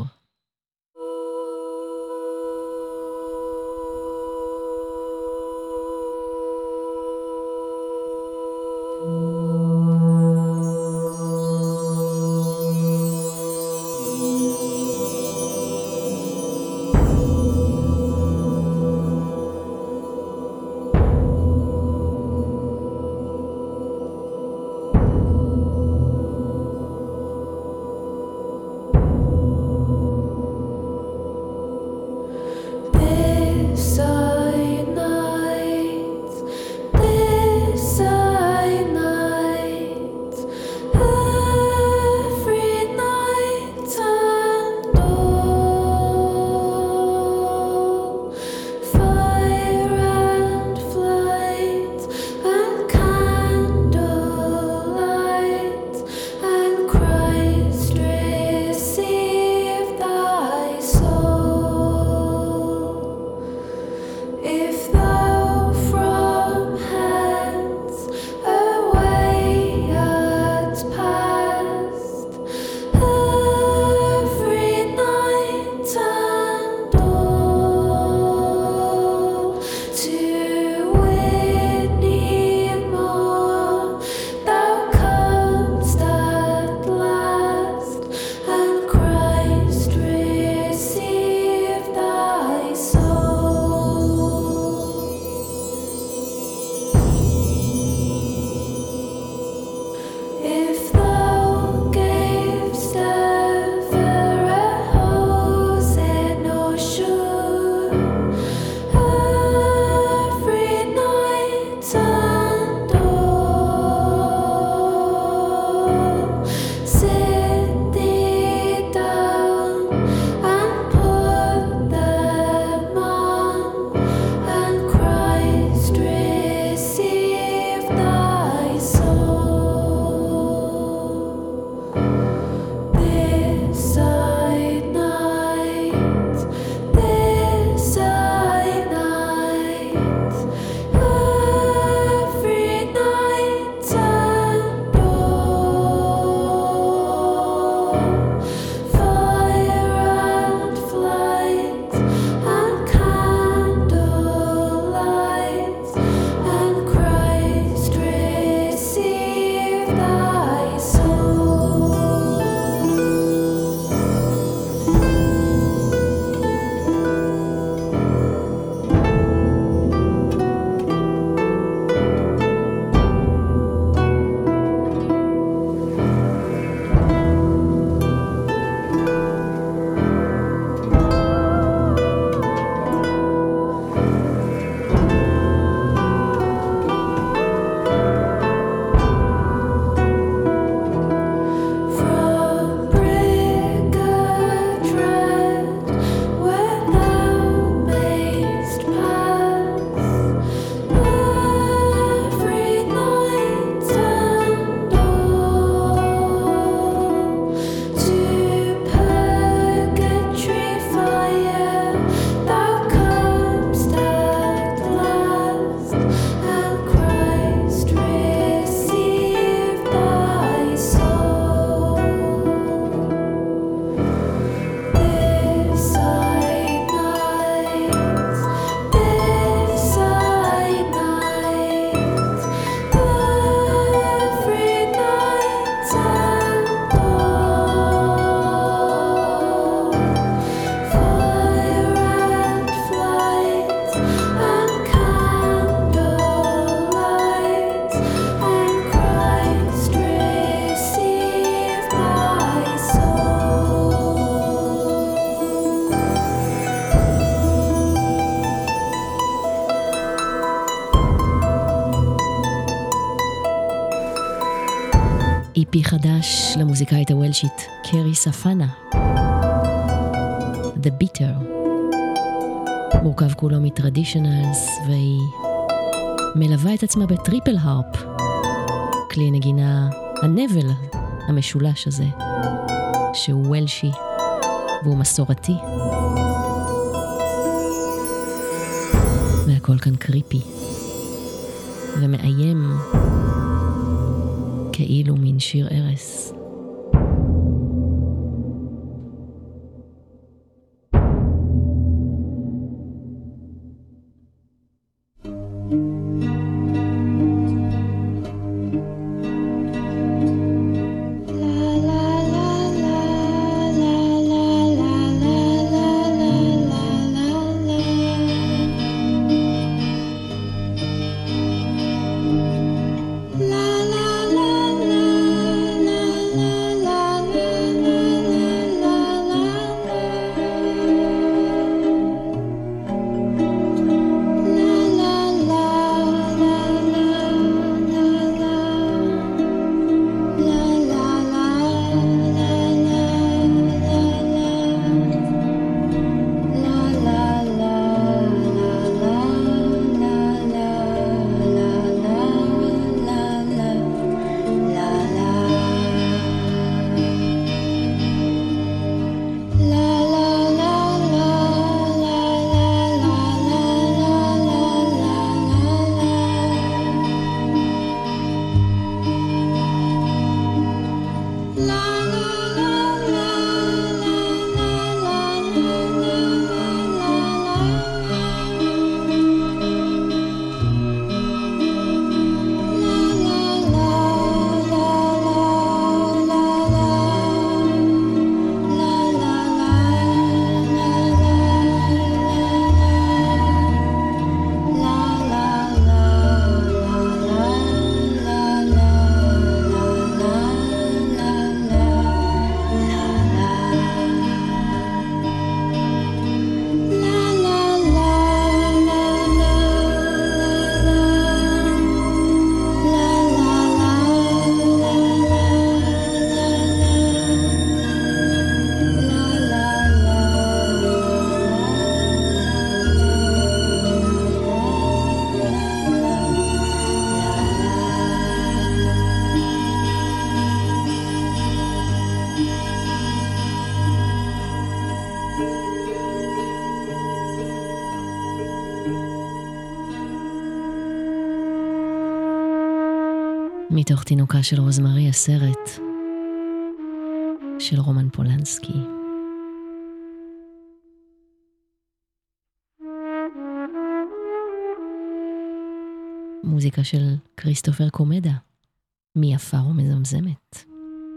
אי פי חדש למוזיקאית הוולשית קרי ספנה, The Bitter. מורכב כולו מטרדישנלס, והיא מלווה את עצמה בטריפל הרפ, כלי נגינה הנבל המשולש הזה, שהוא וולשי והוא מסורתי. והכל כאן קריפי ומאיים כאילו מין שיר ערס. מתוך תינוקה של רוזמרי, הסרט של רומן פולנסקי. מוזיקה של כריסטופר קומדה, מי יפה ומזמזמת.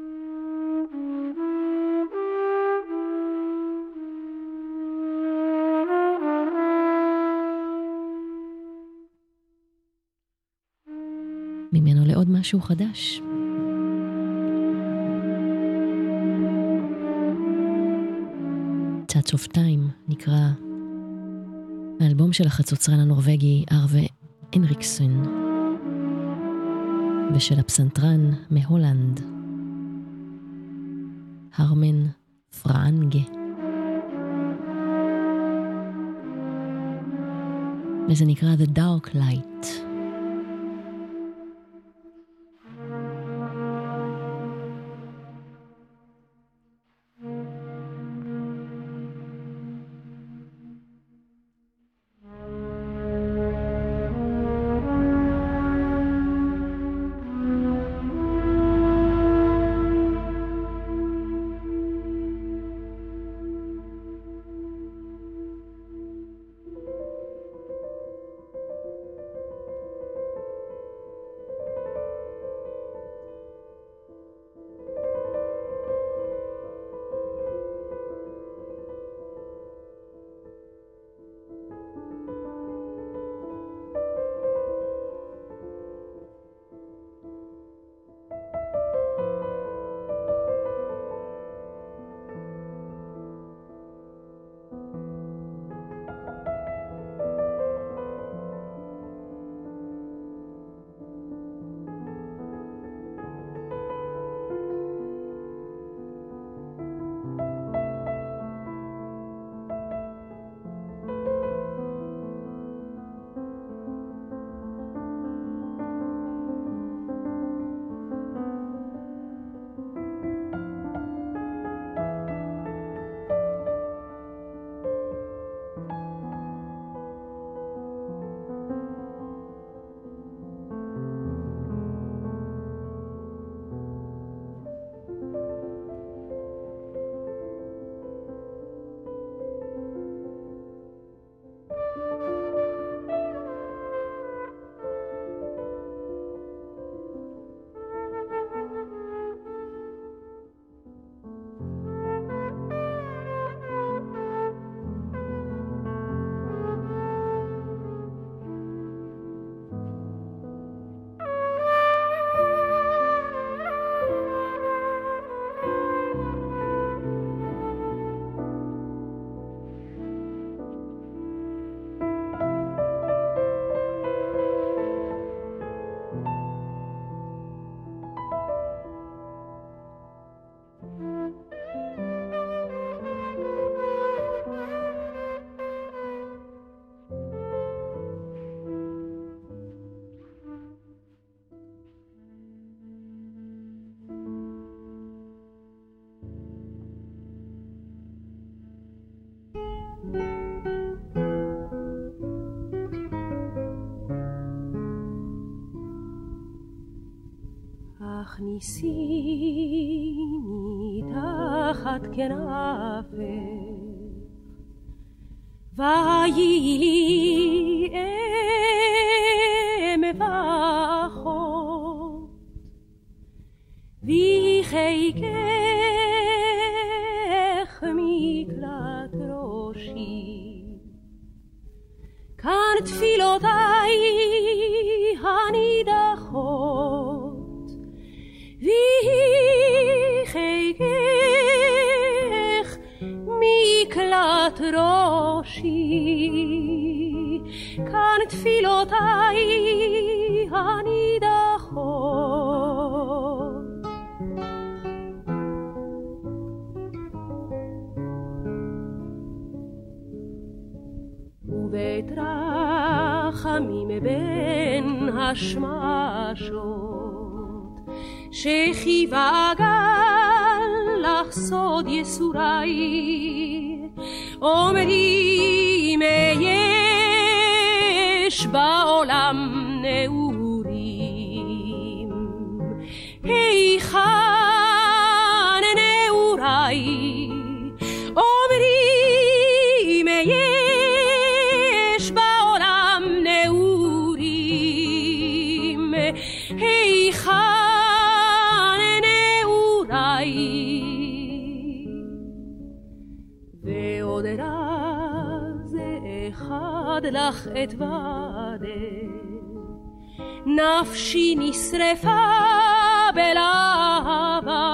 ממנו לעוד משהו חדש. Touch of Time נקרא האלבום של החצוצרן הנורווגי ארווה הנריקסון, ושל הפסנתרן מהולנד הרמן פראנגה. וזה נקרא The Dark Light. הכניסיני תחת כנפך ויהי לי אם ואחות ויחיקך מקלט ראשי כאן תפילותיי הנידחות ויחיקך מקלט ראשי כאן תפילותיי הנידחות ובית רחמים בין השמשות שחיבה גל לך סוד יסורי אומרים יש בעולם נעורים היכן נעורי אומרים יש בעולם נעורים היכן ועוד רז אחד לך אתוודה נפשי נשרפה בלהבה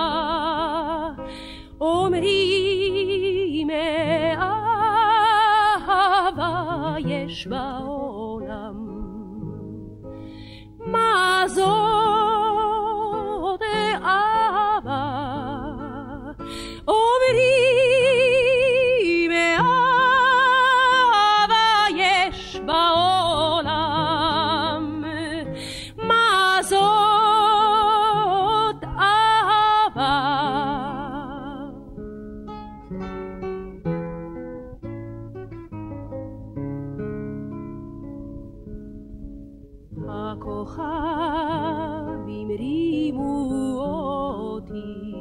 אומרים אהבה יש בעולם מה זאת אהבה אומרים אהבה יש בעולם מה זאת אהבה הכוכבים רימו אותי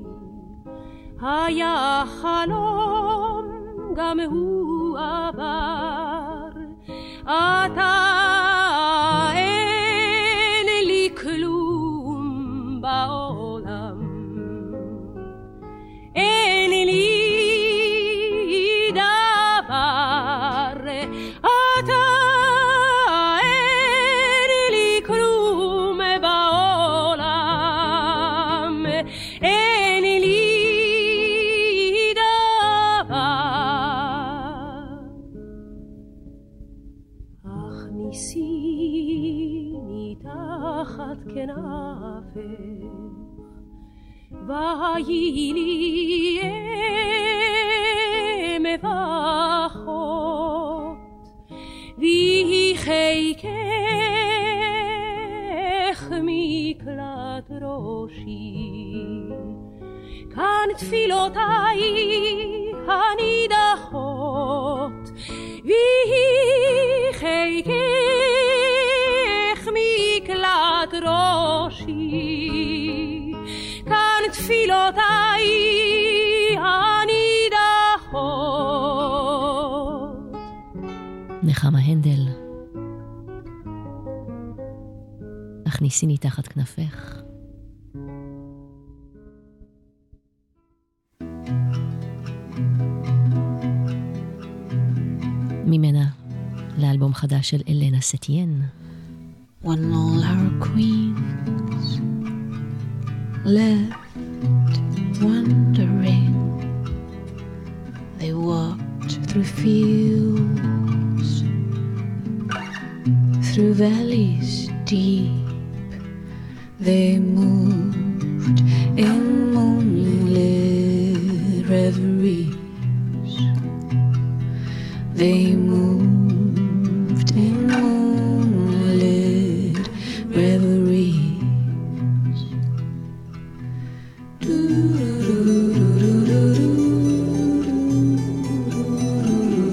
היה חלום גם הוא עבר אתה אין לי כלום בעולם אין לי דבר אתה אין לי כלום בעולם אין לי הכניסיני תחת כנפך ויהי לי אם ואחות ויחיקך מקלט ראשי כאן תפילותיי הנידחות ויחיקך מקלט ראשי כאן תפילותיי הנידחות. נחמה הנדל, הכניסיני תחת כנפך. ממנה לאלבום חדש של אלנה סטיין. When all our queens left wandering, they walked through fields, through valleys deep, they moved in moonlit reveries, they moved in moonlit reveries. Do, do, do, do, do, do, do, do.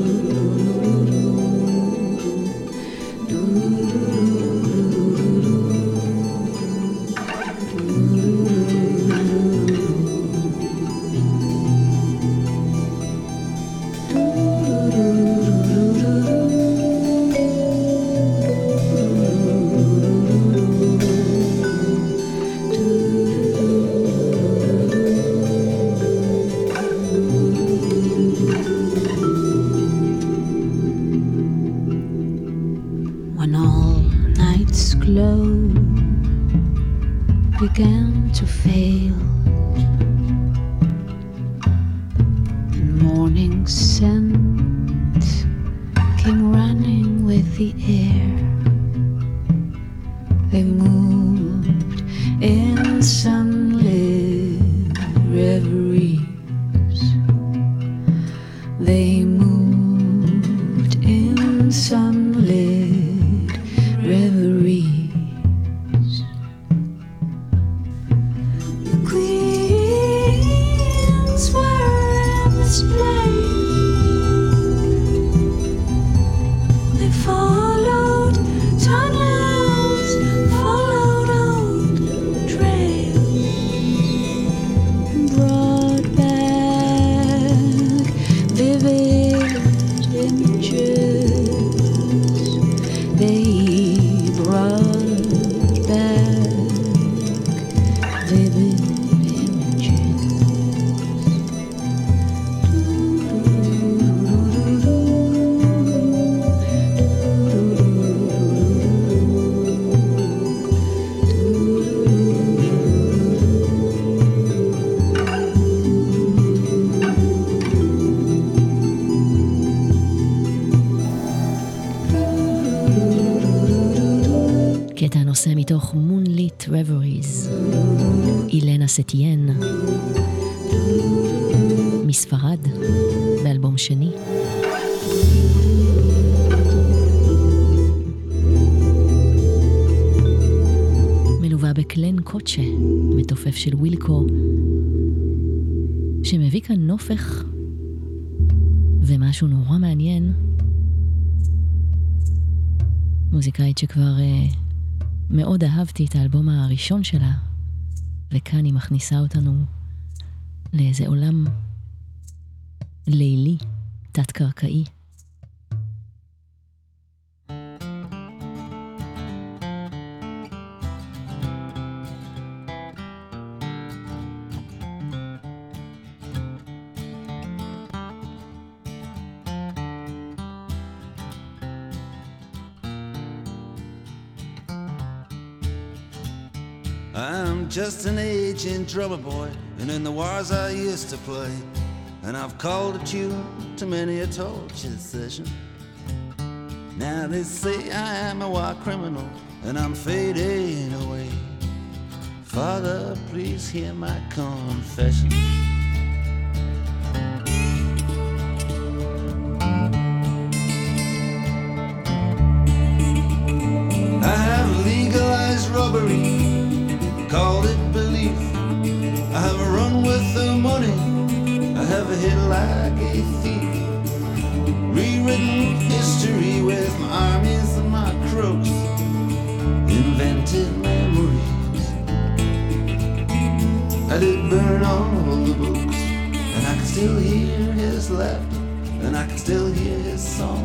began to fail. Morning scent came running with the air. They moved in sunlit reveries. They moved in sunlit reveries. The queens were in display. They followed tunnels, followed old trails, brought back vivid images. They brought back vivid קטע הנושא מתוך Moonlit Reveries, אילנה סטיין, מספרד, באלבום שני. מלווה בקלן קוצ'ה, מתופף של ווילקו, שמביא כאן נופך ומשהו נורא מעניין. מוזיקאית שכבר uh, מאוד אהבתי את האלבום הראשון שלה, וכאן היא מכניסה אותנו לאיזה עולם לילי, תת-קרקעי. I'm just an aging drummer boy, and in the wars I used to play, and I've called a tune to many a torture session. Now they say I am a war criminal, and I'm fading away. Father, please hear my confession. I have legalized robbery, called it belief. I have run with the money, I have hit like a thief. Rewritten history with my armies and my crooks, invented memories. I did burn all the books, and I can still hear his laughter, and I can still hear his song.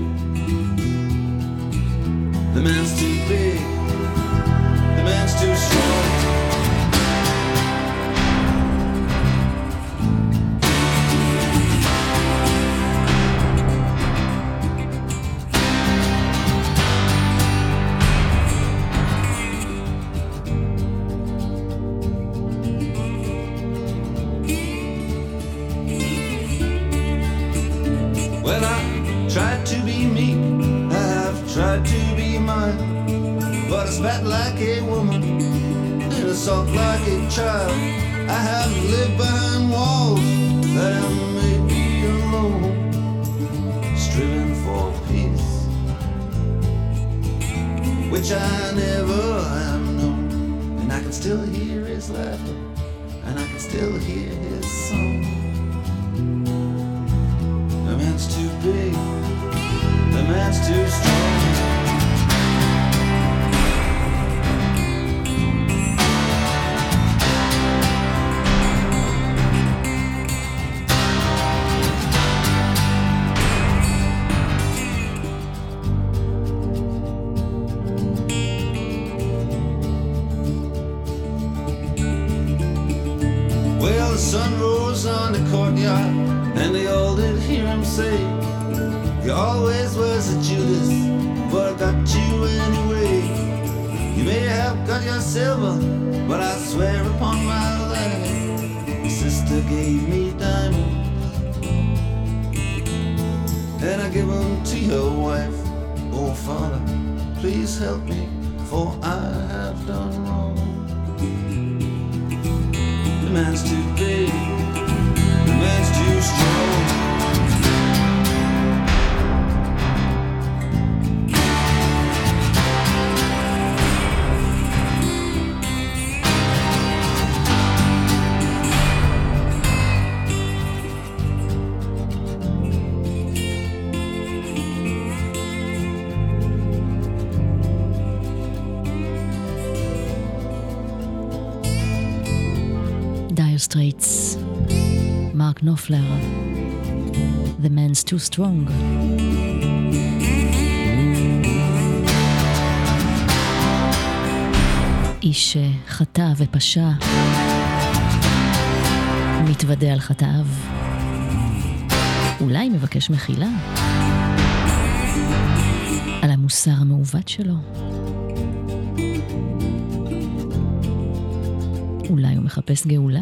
The man's too big, the man's too strong. Well, I tried to be meek, I've tried to be mine, but I spat like a woman and I sulked like a child. I have lived behind walls that have made me alone, striving for peace, which I never have known. And I can still hear his laughter, and I can still hear his song. The man's too big, the man's too strong. Well, the sun rose on the courtyard, and they all did hear him say, "You always was a Judas, but I got you anyway. You may have got your silver, but I swear upon my life, my sister gave me diamonds, and I give them to your wife. Oh, Father, please help me, for I have done wrong. The man's too big, the man's too strong. Dire Straits, Mark Knopfler, The Man's Too Strong. איש שחטא ופשע, מתוודה על חטאיו, אולי מבקש מחילה על המוסר המעוות שלו. אולי הוא מחפש גאולה?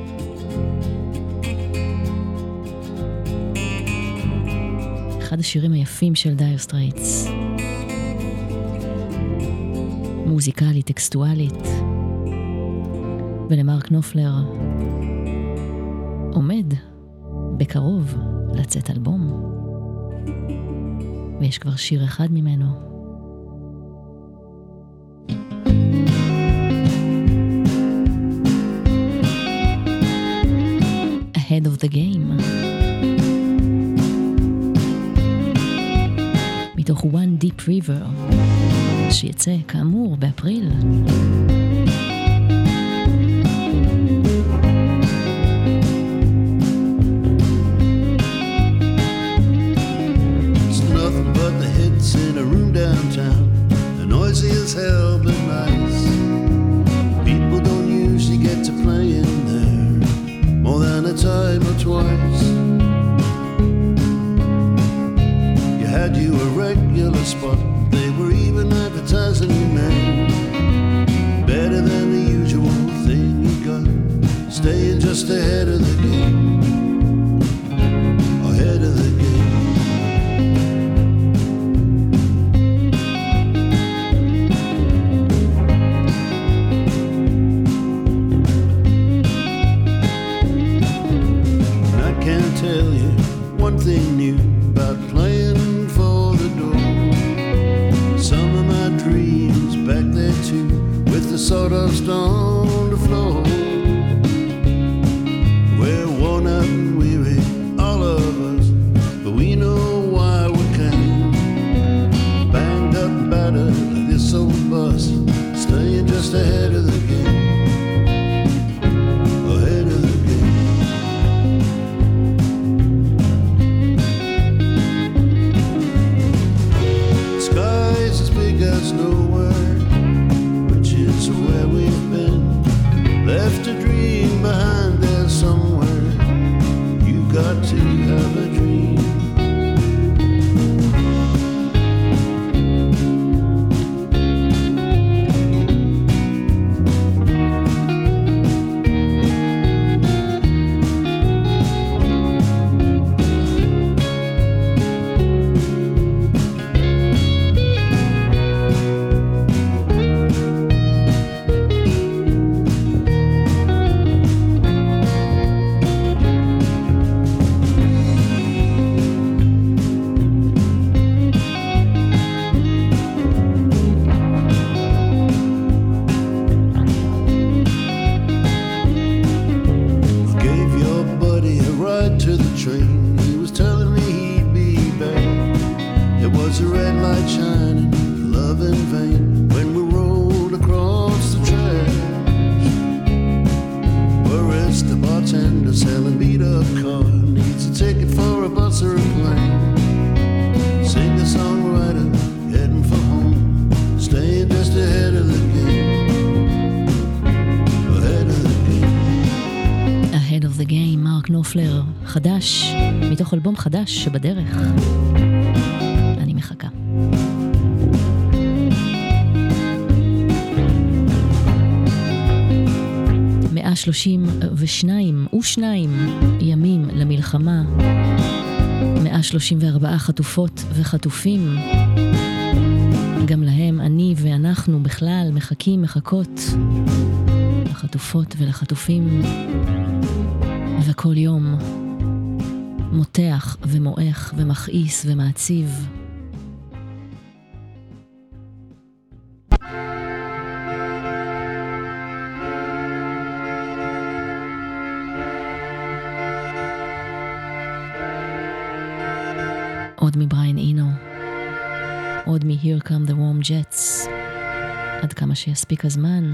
אחד השירים היפים של דייר סטרייטס. מוזיקלית, טקסטואלית. ולמרק נופלר עומד בקרוב לצאת אלבום. ויש כבר שיר אחד ממנו. Ahead of the Game. מתוך One Deep River, שיצא כאמור באפריל. It's nothing but the hits in a room downtown. The noisy as hell but nice. People don't usually get to play in there more than a time or twice. You had you a regular spot. They were even advertising your name. Better than the usual thing you got. Staying just ahead of the game. Ahead of the game. I can't tell you one thing new about playing for the door. Some of my dreams back there too, with the sawdust on the floor. We're worn out and weary, all of us, but we know why we came. Banged up, battered like this old bus, staying just ahead of the game. Ahead of the game. Skies as big as nowhere, which is where we've been. Left a dream behind there somewhere. You got to have a dream. Gave your buddy a ride to the train. He was telling me he'd be back. It was a red light shining, love in vain, when we rolled across the track. Whereas the bartender selling beat up car needs a ticket for a bus or a plane. Singer-songwriter heading for home, staying just ahead of the game. Ahead of the game. Ahead of the Game, מרק נופלר, חדש, מתוך אלבום חדש שבדרך. אני מחכה. שלושים ושניים ושניים ימים למלחמה, מאה שלושים וארבע חטופות וחטופים. גם להם אני ואנחנו בכלל מחכים, מחכות לחטופות ולחטופים, וכל יום מותח ומועך ומכעיס ומעציב. עוד מבריין אינו, עוד מ-Here Come the Warm Jets, עד כמה שיספיק הזמן.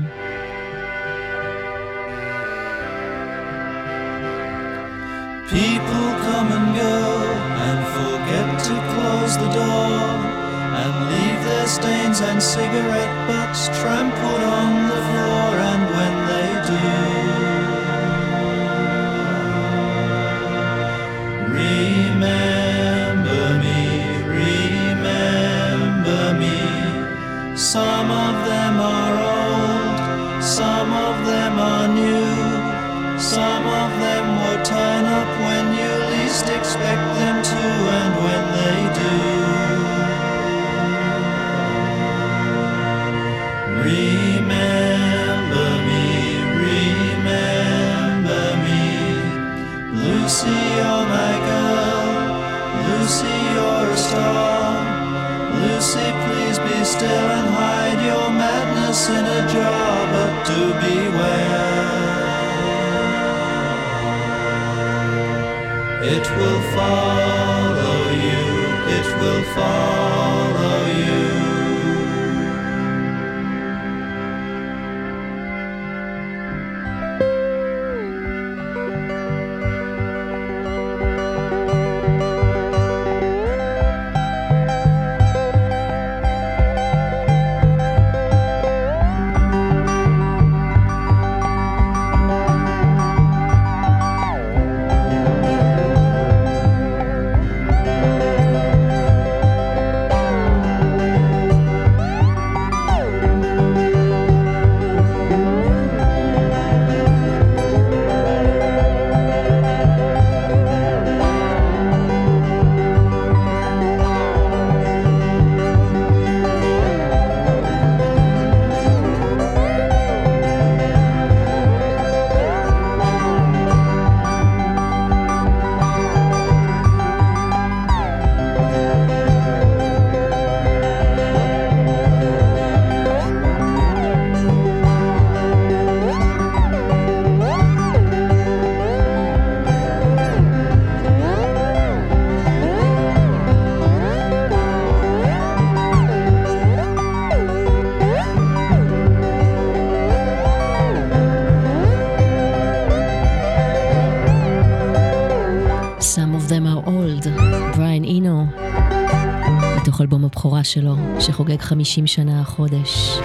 People come and go and forget to close the door and leave their stains and cigarette butts trampled on the floor, and when they do, remember me, remember me. Some of them are old, some of them are new. Some of them will turn up when you least expect them to, and when they do, remember me, remember me. Lucy, you're my girl, Lucy, you're a star. Lucy, please be still and hide your madness in a jar, but do beware. It will follow you, it will follow you. אלבום הבכורה שלו, שחוגג חמישים שנה החודש.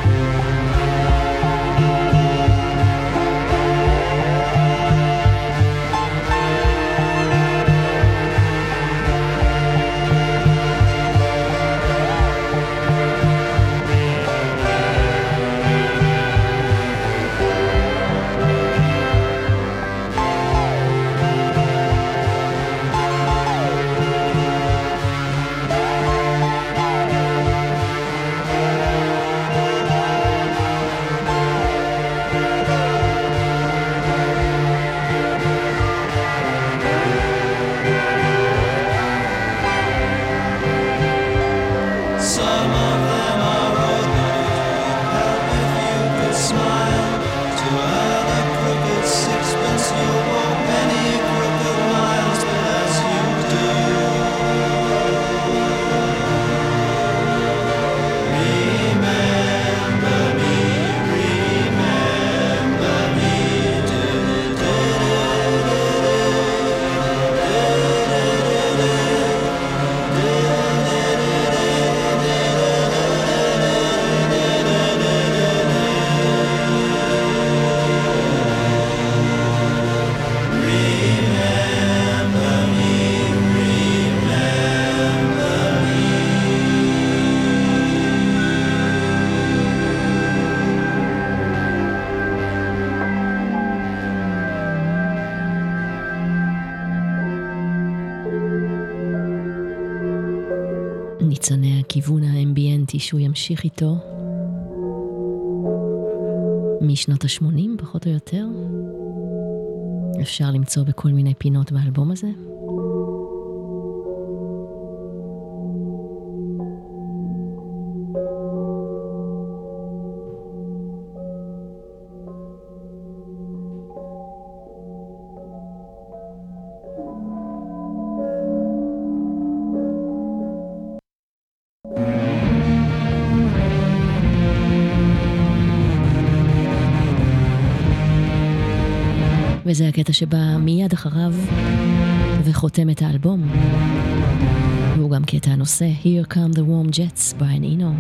ניצני הכיוון האמביינטי שהוא ימשיך איתו משנות ה-שמונים פחות או יותר. אפשר למצוא בכל מיני פינות באלבום הזה. וזה הקטע שבא מיד אחריו וחותם את האלבום. והוא גם קטע הנושא Here Come the Warm Jets, בריאן אינו.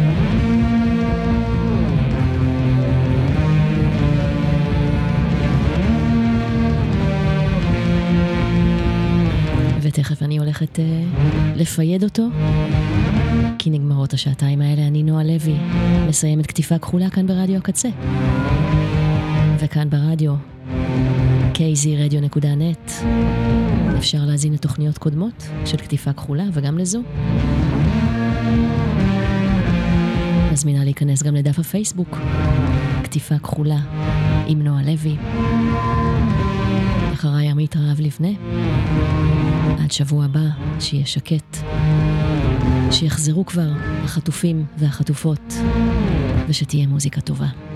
ותכף אני הולכת uh, לפייד אותו, כי נגמרות השעתיים האלה. אני נועה לוי, מסיימת כתיפה כחולה כאן ברדיו הקצה. וכאן ברדיו קי זי רדיו נקודה נט אפשר להזין לתוכניות קודמות של כתיפה כחולה וגם לזו. מזמינה להיכנס גם לדף הפייסבוק כתיפה כחולה עם נועה לוי. אחריי עמית רעב לבנה. עד שבוע הבא, שיהיה שקט, שיחזרו כבר החטופים והחטופות ושתהיה מוזיקה טובה.